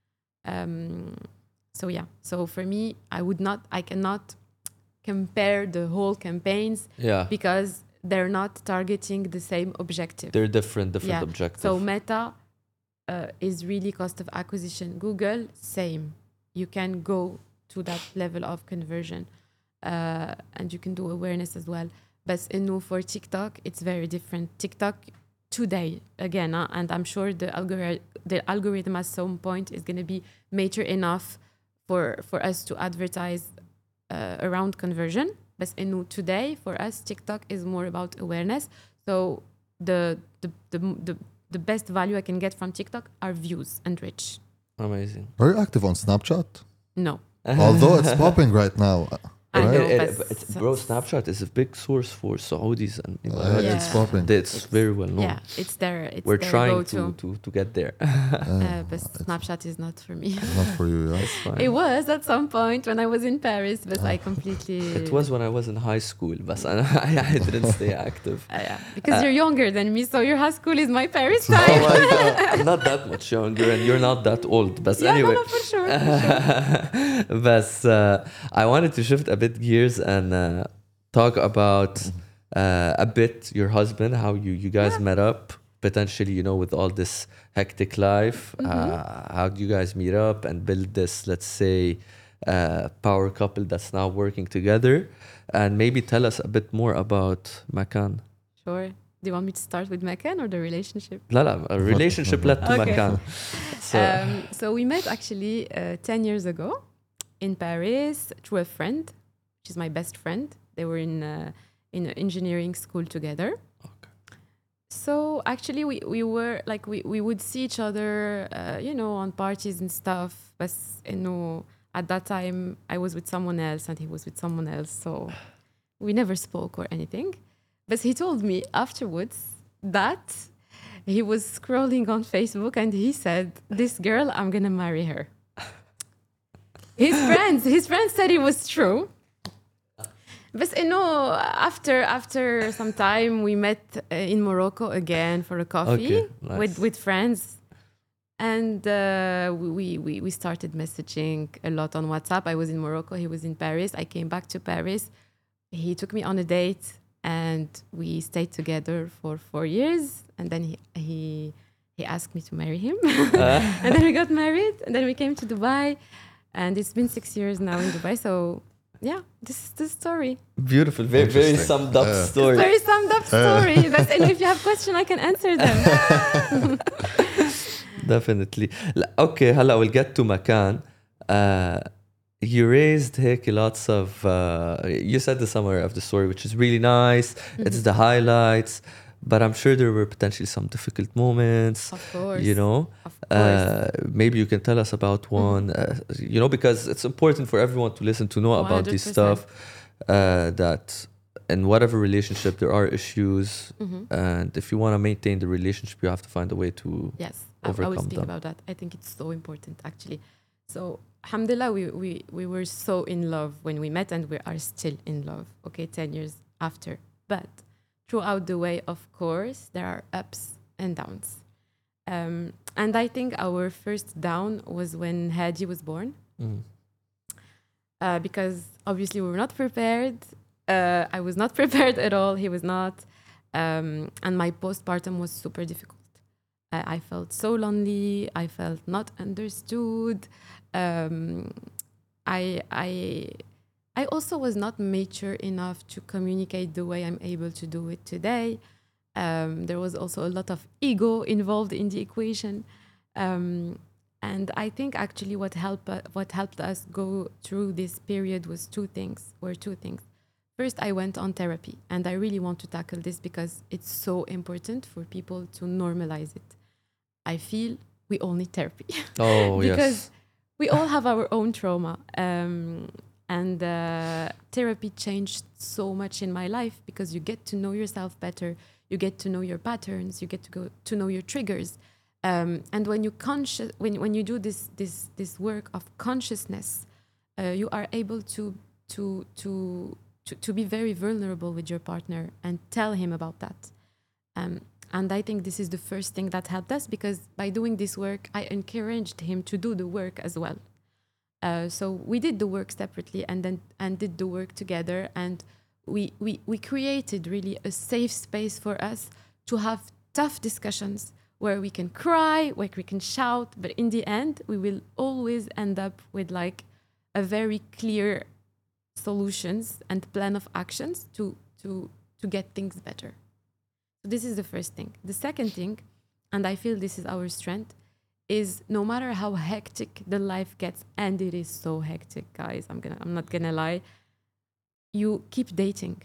Um, so yeah, so for me, I would not, I cannot compare the whole campaigns Yeah. because they're not targeting the same objective. They're different, different Yeah. objectives. So Meta uh, is really cost of acquisition. Google, same. You can go to that level of conversion, uh, and you can do awareness as well. But you know, for TikTok, it's very different. TikTok today, again, uh, and I'm sure the algorithm, the algorithm at some point is going to be mature enough for for us to advertise uh, around conversion. But you know, today for us, TikTok is more about awareness. So the the the the, the best value I can get from TikTok are views and reach. Amazing. Are you active on Snapchat? No. Although it's popping right now. I Right? know, It- but it- it's- bro, Snapchat is a big source for Saudis and Uh, Yeah. It's popping. it's very well known. Yeah, it's their it's We're their trying go-to. to, to, to get there. Uh, but Snapchat is not for me. Not for you, yeah. It's fine. It was at some point when I was in Paris, but I completely. It was when I was in high school, but I, I didn't stay active. Uh, yeah, because Uh, you're younger than me, so your high school is my Paris Oh time. my God. I'm not that much younger and you're not that old. But yeah, anyway. no, no, for sure. For sure. but uh, I wanted to shift a bit gears and uh, talk about uh, a bit your husband, how you, you guys Yeah. met up, potentially, you know, with all this hectic life. Mm-hmm. Uh, how do you guys meet up and build this, let's say, uh, power couple that's now working together? And maybe tell us a bit more about Makan. Sure. Do you want me to start with Mekan or the relationship? لا لا, a relationship led to Okay. Makan. So, Um, so we met actually uh, ten years ago in Paris through a friend, which is my best friend. They were in uh, in an engineering school together. Okay. So actually, we, we were like we, we would see each other, uh, you know, on parties and stuff. But you know, at that time, I was with someone else and he was with someone else, so we never spoke or anything. But he told me afterwards that he was scrolling on Facebook and he said, "This girl, I'm gonna marry her." His friends, his friends said it was true. But you know, after after some time, we met uh, in Morocco again for a coffee Okay, nice. with with friends, and uh, we, we we started messaging a lot on WhatsApp. I was in Morocco, he was in Paris. I came back to Paris. He took me on a date, and we stayed together for four years. And then he he he asked me to marry him, and then we got married. And then we came to Dubai, and it's been six years now in Dubai. So. Yeah, this is the story. Beautiful, very, very Interesting. summed up Yeah. story. Very summed up story. But and if you have questions, I can answer them. Definitely. لا, okay, هلا we'll get to Makan. Uh, you raised هيك lots of uh, you said the summary of the story, which is really nice. It's the highlights, but I'm sure there were potentially some difficult moments. Of course. You know, Of course. uh, maybe you can tell us about one. Uh, you know, because it's important for everyone to listen to know about this one hundred stuff. percent. Uh, that in whatever relationship there are issues, Mhm. and if you want to maintain the relationship, you have to find a way to. Yes, I, I will overcome speak them. about that. I think it's so important, actually. So, alhamdulillah, we, we, we were so in love when we met, and we are still in love, okay, ten years after. But throughout the way, of course, there are ups and downs. Um, and I think our first down was when Hadi was born, Mm. uh, because obviously we were not prepared. Uh, I was not prepared at all. He was not. Um, and my postpartum was super difficult. I, I felt so lonely. I felt not understood. Um, I, I, I also was not mature enough to communicate the way I'm able to do it today. Um, there was also a lot of ego involved in the equation. Um, And I think actually what helped uh, what helped us go through this period was two things. Were two things. First, I went on therapy, and I really want to tackle this because it's so important for people to normalize it. I feel we all need therapy. Oh, because yes. we all have our own trauma. Um, and uh, therapy changed so much in my life because you get to know yourself better. You get to know your patterns. You get to go to know your triggers. Um, and when you conscious, when when you do this this this work of consciousness, uh, you are able to to to to to be very vulnerable with your partner and tell him about that. Um, and I think this is the first thing that helped us because by doing this work, I encouraged him to do the work as well. Uh, so we did the work separately and then and did the work together, and we we we created really a safe space for us to have tough discussions where we can cry, where we can shout, but in the end, we will always end up with like a very clear solutions and plan of actions to to to get things better. So this is the first thing. The second thing, and I feel this is our strength, is no matter how hectic the life gets, and it is so hectic, guys, I'm gonna I'm not gonna lie, you keep dating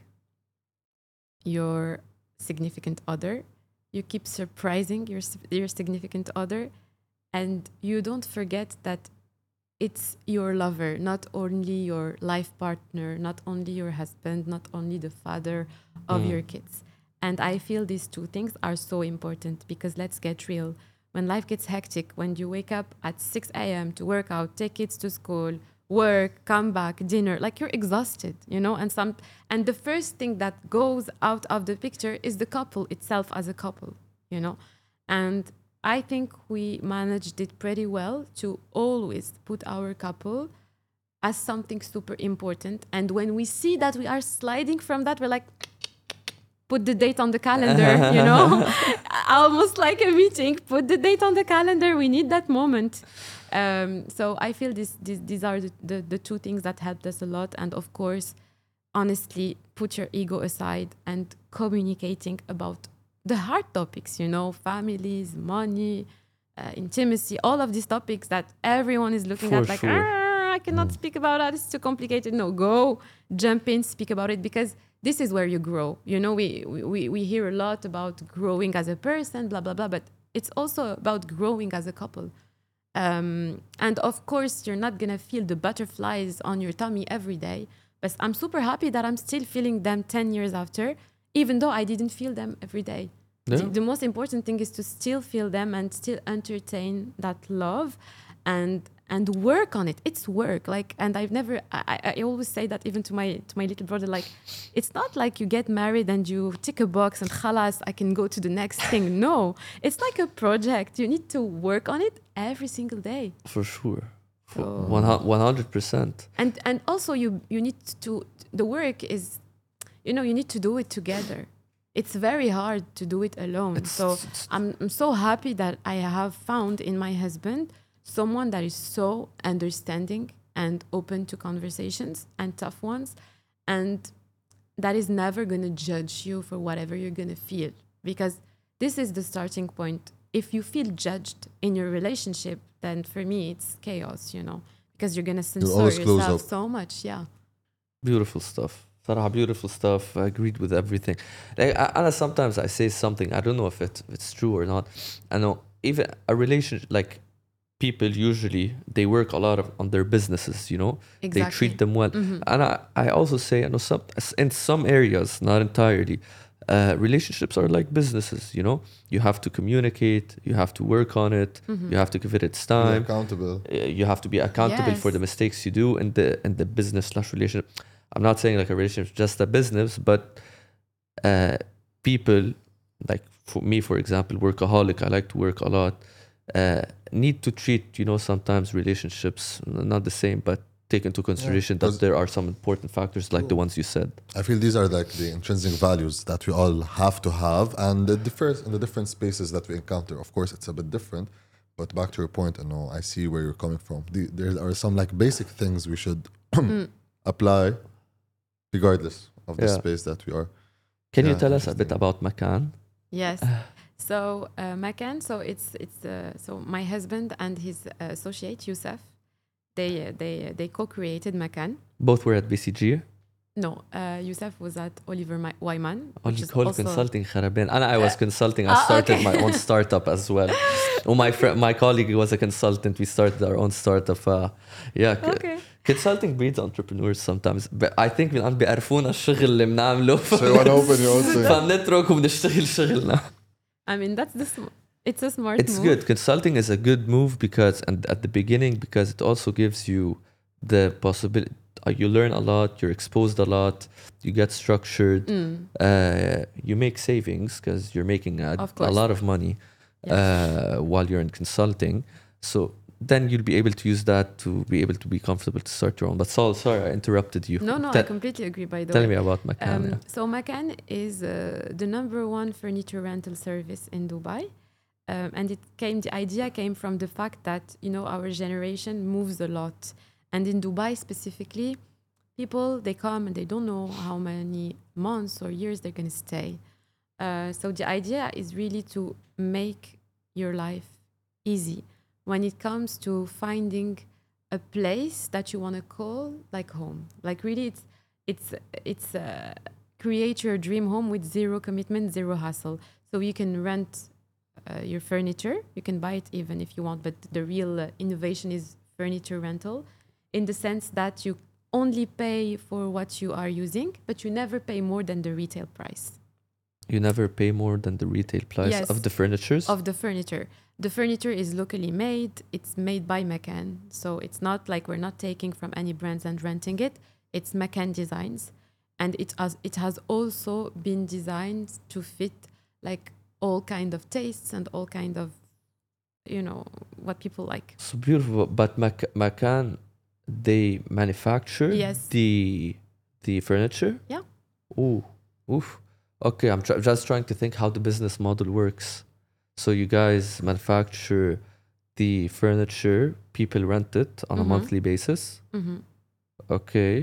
your significant other. You keep surprising your your significant other, and you don't forget that it's your lover, not only your life partner, not only your husband, not only the father of Mm. your kids. And I feel these two things are so important because let's get real. When life gets hectic, when you wake up at six a.m. to work out, take kids to school, work, come back, dinner, like you're exhausted, you know, and some and the first thing that goes out of the picture is the couple itself as a couple, you know. And I think we managed it pretty well to always put our couple as something super important. And when we see that we are sliding from that, we're like, put the date on the calendar, you know, almost like a meeting, put the date on the calendar. We need that moment. Um, so I feel this, this, these are the, the, the two things that helped us a lot. And of course, honestly, put your ego aside and communicating about the hard topics, you know, families, money, uh, intimacy, all of these topics that everyone is looking For at like, sure. "Ah, I cannot speak about that. It's too complicated." No, go, jump in, speak about it, because this is where you grow. You know, we, we, we hear a lot about growing as a person, blah, blah, blah, but it's also about growing as a couple. Um, and of course, you're not going to feel the butterflies on your tummy every day, but I'm super happy that I'm still feeling them ten years after, even though I didn't feel them every day. Yeah. The, the most important thing is to still feel them and still entertain that love and and work on it. It's work. Like, and I've never, I, I always say that even to my to my little brother, like, it's not like you get married and you tick a box and khalas, I can go to the next thing. No, it's like a project. You need to work on it every single day. For sure. For So- one hu- one hundred percent. And and also you you need to, the work is, you know, you need to do it together. It's very hard to do it alone. It's- so it's- I'm, I'm so happy that I have found in my husband someone that is so understanding and open to conversations and tough ones, and that is never going to judge you for whatever you're going to feel, because this is the starting point. If you feel judged in your relationship, then for me it's chaos, you know, because you're going to censor always close yourself up. so much. Yeah. Beautiful stuff. Sarah, beautiful stuff. I agreed with everything. Like, I, and sometimes I say something, I don't know if, it, if it's true or not. I know even a relationship, like people usually, they work a lot of, on their businesses, you know? Exactly. They treat them well. Mhm. And I, I also say, I know some, in some areas, not entirely, uh, relationships are like businesses, you know? You have to communicate, you have to work on it, Mhm. you have to give it its Be time. accountable. Uh, you have to be accountable for Yes. the mistakes you do in the in the business slash relationship. I'm not saying like a relationship is just a business, but uh, people like for me, for example, workaholic. I like to work a lot. Uh, need to treat, you know, sometimes relationships not the same, but take into consideration that 'cause- there are some important factors like the ones you said. I feel these are like the intrinsic values that we all have to have, and the difference in the different spaces that we encounter. Of course, it's a bit different, but back to your point, I know I see where you're coming from. The, there are some like basic things we should apply, regardless of the Yeah. space that we are. Can you Yeah, tell us a bit interesting. about Makan? Yes. So uh, Makan, so it's it's uh, so my husband and his uh, associate Youssef, they uh, they uh, they co-created Makan. Both were at B C G. No, uh, Youssef was at Oliver My- Wyman, All which is whole also consulting خربان. أنا I was consulting. I Ah, started okay. my own startup as well. Oh, my friend, my colleague was a consultant. We started our own startup. Uh, yeah. c- okay. Consulting breeds entrepreneurs sometimes. But I think من عم بيعرفونا الشغل اللي بنعمله. So you want to open your own thing? فنترك وبنشتغل شغلنا. I mean that's the sm- it's a smart It's move. good. Consulting is a good move because, and at the beginning, because it also gives you the possibility. Uh, you learn a lot. You're exposed a lot. You get structured. Mm. Uh, you make savings because you're making a, Of a course. lot of money Yes. uh, while you're in consulting. So then you'll be able to use that to be able to be comfortable to start your own. But Saul, sorry, I interrupted you. No, no, I Te- completely agree. By the Tell way. me about Makan. Um, yeah. so Makan is uh, the number one furniture rental service in Dubai, um, and it came. The idea came from the fact that you know our generation moves a lot, and in Dubai specifically, people they come and they don't know how many months or years they're going to stay. Uh, so the idea is really to make your life easy when it comes to finding a place that you want to call like home. Like really, it's it's it's uh, create your dream home with zero commitment, zero hassle. So you can rent uh, your furniture. You can buy it even if you want, but the real uh, innovation is furniture rental, in the sense that you only pay for what you are using, but you never pay more than the retail price You never pay more than the retail price Yes. of the furnitures. of the furniture. The furniture is locally made. It's made by Makan. So it's not like we're not taking from any brands and renting it. It's Makan designs. And it has, it has also been designed to fit like all kind of tastes and all kind of, you know, what people like. So beautiful. But Mac- Makan, they manufacture Yes. the the furniture. Yeah. Ooh, oof. Okay, I'm tr- just trying to think how the business model works. So you guys manufacture the furniture, people rent it on a Mhm. monthly basis. Mhm. Okay,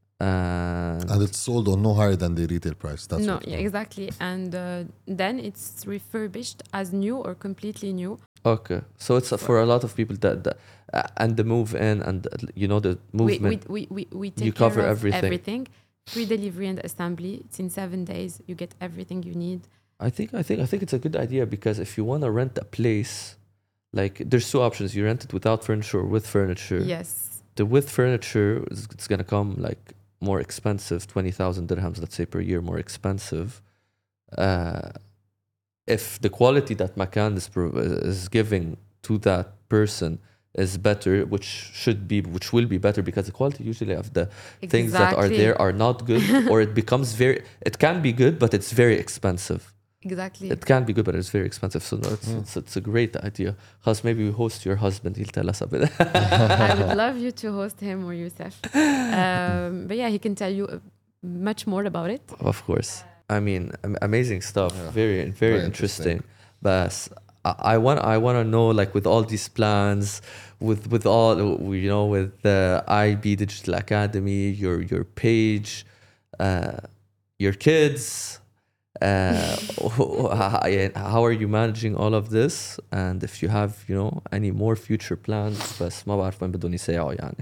and And it's sold on no higher than the retail price. That's No, what, yeah, exactly. And uh, then it's refurbished as new or completely new. okay, so it's uh, for a lot of people that, that uh, and the move in and uh, you know the We, movement. we, we, we, we take You care cover of everything. everything. Free delivery and assembly. It's in seven days. You get everything you need. I think I think I think it's a good idea because if you want to rent a place, like there's two options: you rent it without furniture or with furniture. Yes. The with furniture is it's gonna come like more expensive, twenty thousand dirhams, let's say per year, more expensive. Uh, if the quality that Makan is pro- is giving to that person is better, which should be, which will be better because the quality usually of the things that are Exactly. there are not good, or it becomes very. It can be good, but it's very expensive. Exactly. It can be good, but it's very expensive. So no, it's, it's, it's a great idea. Because maybe we host your husband. He'll tell us a bit. I would love you to host him or Youssef. Um, but yeah, he can tell you uh, much more about it. Of course. I mean, am- amazing stuff. Yeah. Very, very, Very interesting. interesting. But I, I want, I want to know, like, with all these plans, with with all, you know, with the I B Digital Academy, your your page, uh, your kids. Uh, how are you managing all of this? And if you have, you know, any more future plans, بس ما بعرف وين بدهم يساعوا يعني.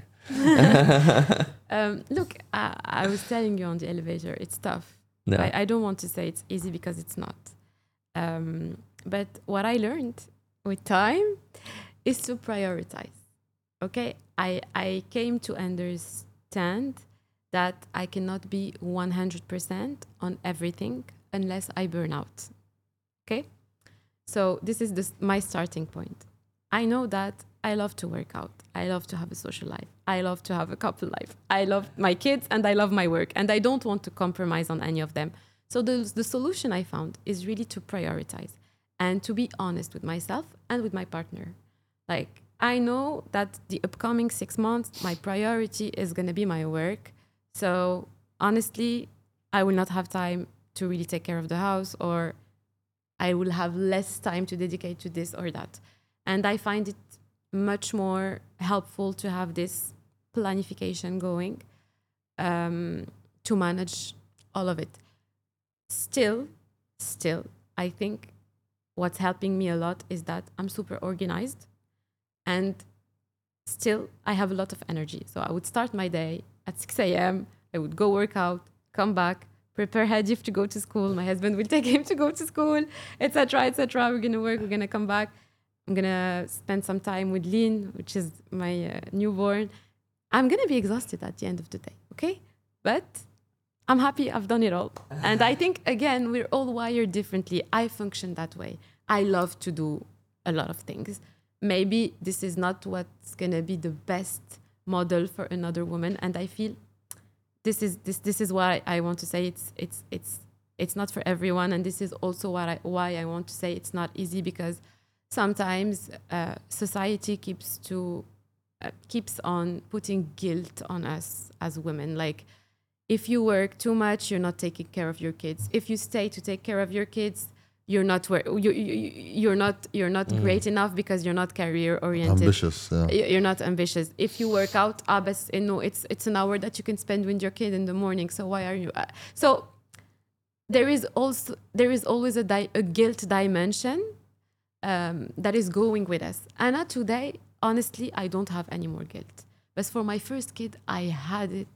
Um, look, I, I was telling you on the elevator, it's tough. Yeah. I, I don't want to say it's easy because it's not. Um, but what I learned with time is to prioritize. Okay, I, I came to understand that I cannot be one hundred percent on everything unless I burn out. Okay, so this is this, my starting point. I know that I love to work out. I love to have a social life. I love to have a couple life. I love my kids and I love my work. And I don't want to compromise on any of them. So the, the solution I found is really to prioritize and to be honest with myself and with my partner. Like, I know that the upcoming six months, my priority is going to be my work. So honestly, I will not have time to really take care of the house, or I will have less time to dedicate to this or that. And I find it much more helpful to have this planification going um, to manage all of it. Still, still, I think what's helping me a lot is that I'm super organized, and still I have a lot of energy. So I would start my day at six a.m. I would go work out, come back, prepare Hadif to go to school. My husband will take him to go to school, et cetera, et cetera. We're gonna work. We're gonna come back. I'm gonna spend some time with Lean, which is my uh, newborn. I'm gonna be exhausted at the end of the day. Okay, but I'm happy I've done it all. And I think, again, we're all wired differently. I function that way. I love to do a lot of things. Maybe this is not what's going to be the best model for another woman. And I feel this is this this is why I want to say it's it's it's it's not for everyone. And this is also what I, why I want to say it's not easy, because sometimes uh, society keeps to uh, keeps on putting guilt on us as women. Like, if you work too much, you're not taking care of your kids. If you stay to take care of your kids, you're not wor- you, you, you're not you're not mm. great enough because you're not career oriented. Ambitious, yeah. You're not ambitious. If you work out, ah, bas, no, it's it's an hour that you can spend with your kid in the morning. So why are you? Uh, so there is also there is always a, di- a guilt dimension um, that is going with us. Anna, today, honestly, I don't have any more guilt. But for my first kid, I had it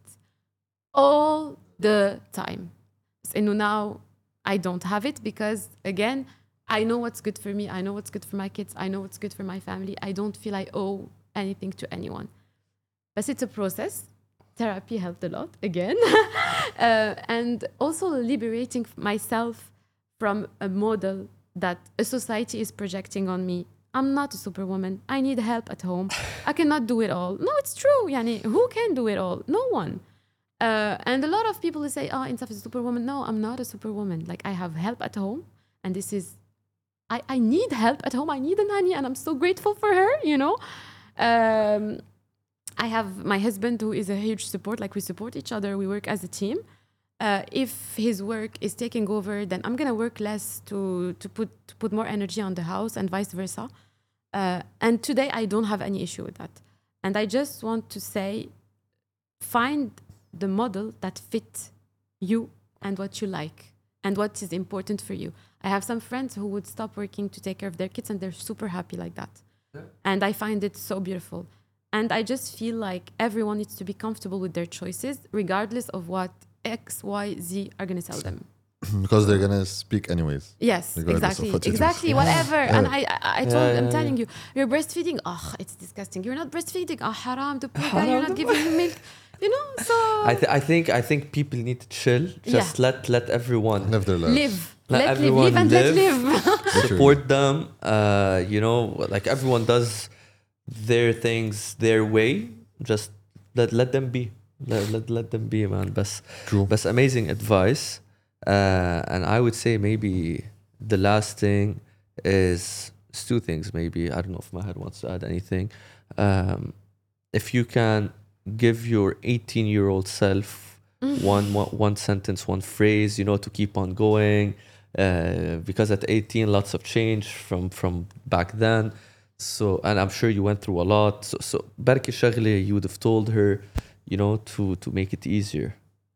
all the time. So now I don't have it because, again, I know what's good for me. I know what's good for my kids. I know what's good for my family. I don't feel I owe anything to anyone. But it's a process. Therapy helped a lot, again. uh, and also liberating myself from a model that a society is projecting on me. I'm not a superwoman. I need help at home. I cannot do it all. No, it's true. Yani, who can do it all? No one. Uh, and a lot of people will say, oh, Insaf is a superwoman. No, I'm not a superwoman. Like, I have help at home. And this is, I, I need help at home. I need a nanny. And I'm so grateful for her, you know. Um, I have my husband, who is a huge support. Like, we support each other. We work as a team. Uh, if his work is taking over, then I'm going to work less to, to, put, to put more energy on the house, and vice versa. Uh, and today, I don't have any issue with that. And I just want to say, find the model that fits you and what you like and what is important for you. I have some friends who would stop working to take care of their kids, and they're super happy like that. Yeah. And I find it so beautiful. And I just feel like everyone needs to be comfortable with their choices, regardless of what X, Y, Z are going to tell them. Because they're going to speak anyways. Yes, exactly. Exactly, whatever. Yeah. And I I, I told, yeah, yeah, I'm telling you, you're breastfeeding. Oh, it's disgusting. You're not breastfeeding. Oh, haram. The poor guy, you're not giving him milk. You know, so... I, th- I think I think people need to chill. Just yeah. let let everyone... Live their lives. Live. Let, let everyone live, and live. Let live. Support them. Uh, you know, like, everyone does their things their way. Just let let them be. Let let, let them be, man. But, True. But amazing advice. Uh, and I would say maybe the last thing is, is two things. Maybe, I don't know if Maher wants to add anything. Um, if you can give your eighteen-year-old self mm. one, one one sentence, one phrase, you know, to keep on going. Uh, because at eighteen, lots of change from, from back then. So, and I'm sure you went through a lot. So, so بركي شغلة you would have told her, you know, to, to make it easier.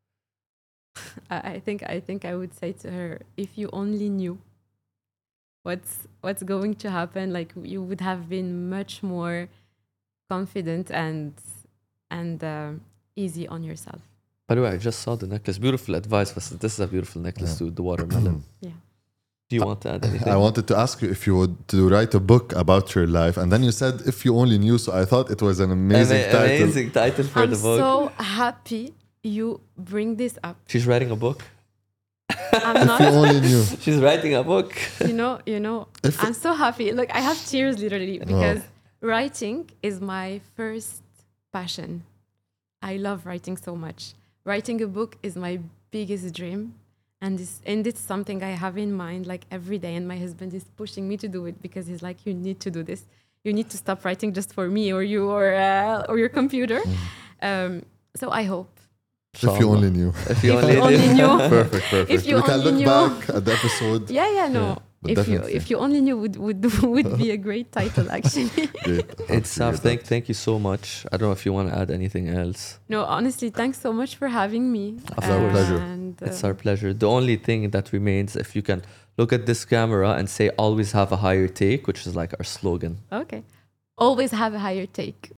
I think I think I would say to her, if you only knew what's what's going to happen, like, you would have been much more confident and and uh, easy on yourself. By the way, I just saw the necklace. Beautiful advice. This is a beautiful necklace, yeah. To the watermelon. Yeah. Do you want to add anything? I wanted to ask you if you would to write a book about your life, and then you said if you only knew. So I thought it was an amazing Ama- title. Amazing title for I'm the book. I'm so happy you bring this up. She's writing a book. I'm not. If you only knew. She's writing a book. You know, you know. If I'm so happy. Look, I have tears literally because oh. writing is my first passion. I love writing so much. Writing a book is my biggest dream. And this, and it's something I have in mind like every day. And my husband is pushing me to do it because he's like, you need to do this. You need to stop writing just for me or you or uh, or your computer. Mm. Um, so I hope. If you only knew. If you if only, you only knew. Perfect, perfect. If you we can only look knew. back at the episode. Yeah, yeah, no. But if you definitely. if you only knew would would would be a great title actually. Great. It's Happy to Saf, hear thank that. thank you so much. I don't know if you want to add anything else. No, honestly, thanks so much for having me. Of course. Pleasure. And, uh, It's our pleasure. The only thing that remains, if you can look at this camera and say always have a higher take, which is like our slogan. okay. Always have a higher take.